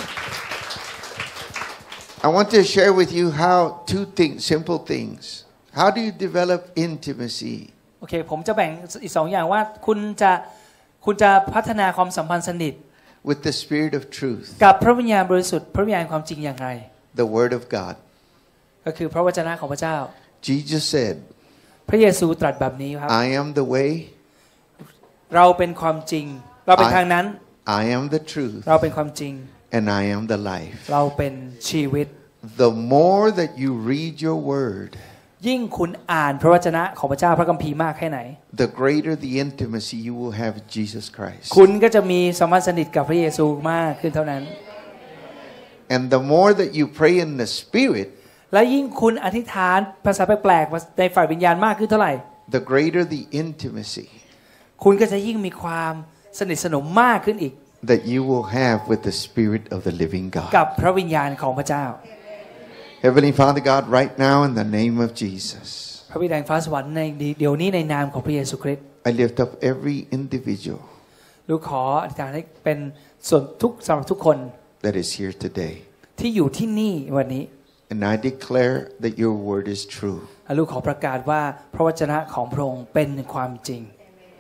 I want to share with you how two things, simple things. How do you develop intimacy? โอเคผมจะแบ่งอีกสองอย่างว่าคุณจะคุณจะพัฒนาความสัมพันธ์สนิท with the Spirit of truth, กับพระวิญญาณบริสุทธิ์พระวิญญาณความจริงอย่างไร the Word of God. ก็คือพระวจนะของพระเจ้า Jesus said, พระเยซูตรัสแบบนี้ครับ I am the way, เราเป็นความจริง เราเป็นทางนั้น I am the truth, เราเป็นความจริง and I am the life. เราเป็นชีวิต The more that you read your Word, ยิ่งคุณอ่านพระวจนะของพระเจ้าพระคัมภีร์มากแค่ไหน the greater the intimacy you will have with Jesus Christ. คุณก็จะมีสัมพันธ์สนิทกับพระเยซูมากขึ้นเท่านั้น And the more that you pray in the Spirit, และยิ่งคุณอธิษฐานภาษาแปลกๆในฝ่ายวิญญาณมากขึ้นเท่าไหร่ the greater the intimacy คุณก็จะยิ่งมีความสนิทสนมมากขึ้นอีก that you will have with the Spirit of the living กับ God. พระวิญญาณของพระเจ้า Heavenly Father God, right now in the name of Jesus, พระบิดาแห่งฟ้าสวรรค์ในเดี๋ยวนี้ในนามของพระเยซูคริสต์ I lift up every individual ลูกขออธิษฐานให้เป็นส่วนทุกสำหรับทุกคน that is here today. ที่อยู่ที่นี่วันนี้ And I declare that your word is true. ลูกขอประกาศว่าพระวจนะของพระองค์เป็นความจริง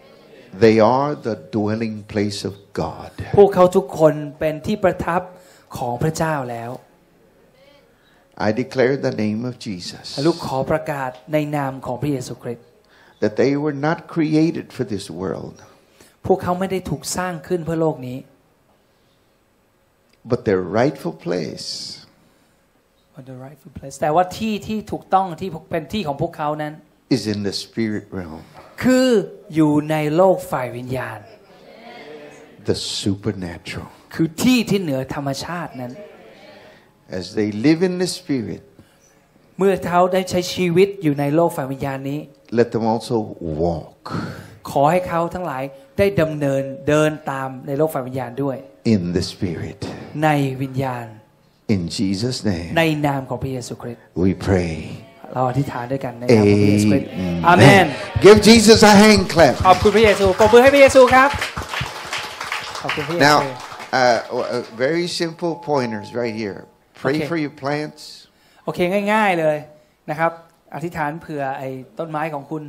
They are the dwelling place of God. พวกเขาทุกคนเป็นที่ประทับของพระเจ้าแล้ว I declare the name of Jesus ลูกขอประกาศในนามของพระเยซูคริสต์ that they were not created for this world พวกเขาไม่ได้ถูกสร้างขึ้นเพื่อโลกนี้ but their rightful place the rightful place แต่ว่าที่ที่ถูกต้องที่เป็นที่ของพวกเขานั้น is in the spirit realm คืออยู่ในโลกฝ่ายวิญญาณ the supernatural คือที่ที่เหนือธรรมชาตินั้น as they live in the spirit เมื่อเขาได้ใช้ชีวิตอยู่ในโลกฝ่ายวิญญาณนี้ let them also walk ขอให้เขาทั้งหลายได้ดำเนินเดินตามในโลกฝ่ายวิญญาณด้วย in the spirit ในวิญญาณ in Jesus name ในนามของพระเยซูคริสต์ we pray เราอธิษฐานด้วยกันในนามของพระเยซูคริสต์อาเมน give Jesus a hand clap ขอบคุณพระเยซูปรบมือให้พระเยซูครับขอบคุณพระเยซู now uh, very simple pointers right here pray for your plants โอเคง่ายๆเลยนะครับอธิษฐานเผื่อไอ้ต้นไม้ของคุณ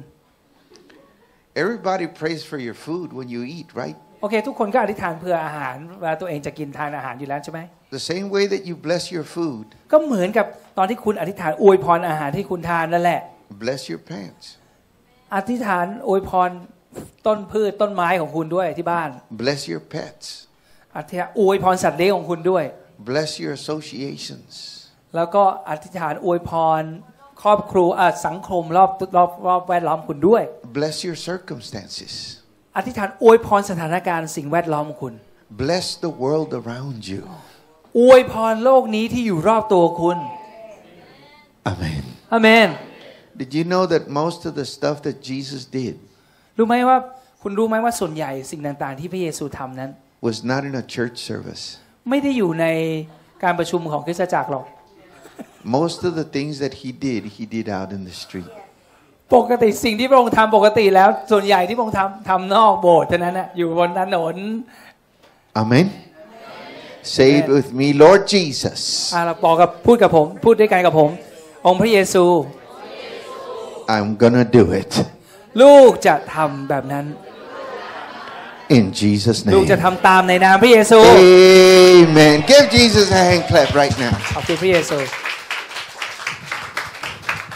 everybody prays for your food when you eat right โอเคทุกคนก็อธิษฐานเผื่ออาหารเวลาตัวเองจะกินทานอาหารอยู่แล้วใช่ไหม the same way that you bless your food ก็เหมือนกับตอนที่คุณอธิษฐานอวยพรอาหารที่คุณทานนั่นแหละ bless your plants อธิษฐานอวยพรต้นพืชต้นไม้ของคุณด้วยที่บ้าน bless your pets อธิษฐานอวยพรสัตว์เลี้ยงของคุณด้วย bless your associations แล้วก็อธิษฐานอวยพรครอบครัวสังคมรอบรอบรอบแวดล้อมคุณด้วย bless your circumstances อธิษฐานอวยพรสถานการณ์สิ่งแวดล้อมของคุณ bless the world around you อวยพรโลกนี้ที่อยู่รอบตัวคุณ amen อาเมน did you know that most of the stuff that Jesus did รู้ไหมว่าคุณรู้ไหมว่าส่วนใหญ่สิ่งต่างๆที่พระเยซูทำนั้น was not in a church service ไม่ได้อยู่ในการประชุมของคริสตจักรหรอก most of the things that he did he did out in the street ปกติสิ่งที่พระองค์ทำปกติแล้วส่วนใหญ่ที่พระองค์ทำทำนอกโบสถ์เท่านั้นนะอยู่บนถนน amen say it with me Lord Jesus อ่าเราบอกกับพูดกับผมพูดด้วยกันกับผมองค์พระเยซู I'm gonna do it ลูกจะทำแบบนั้น in Jesus name ลูกจะทำตามในนามพระเยซู Amen give Jesus a hand clap right now ขอบคุณพระเยซู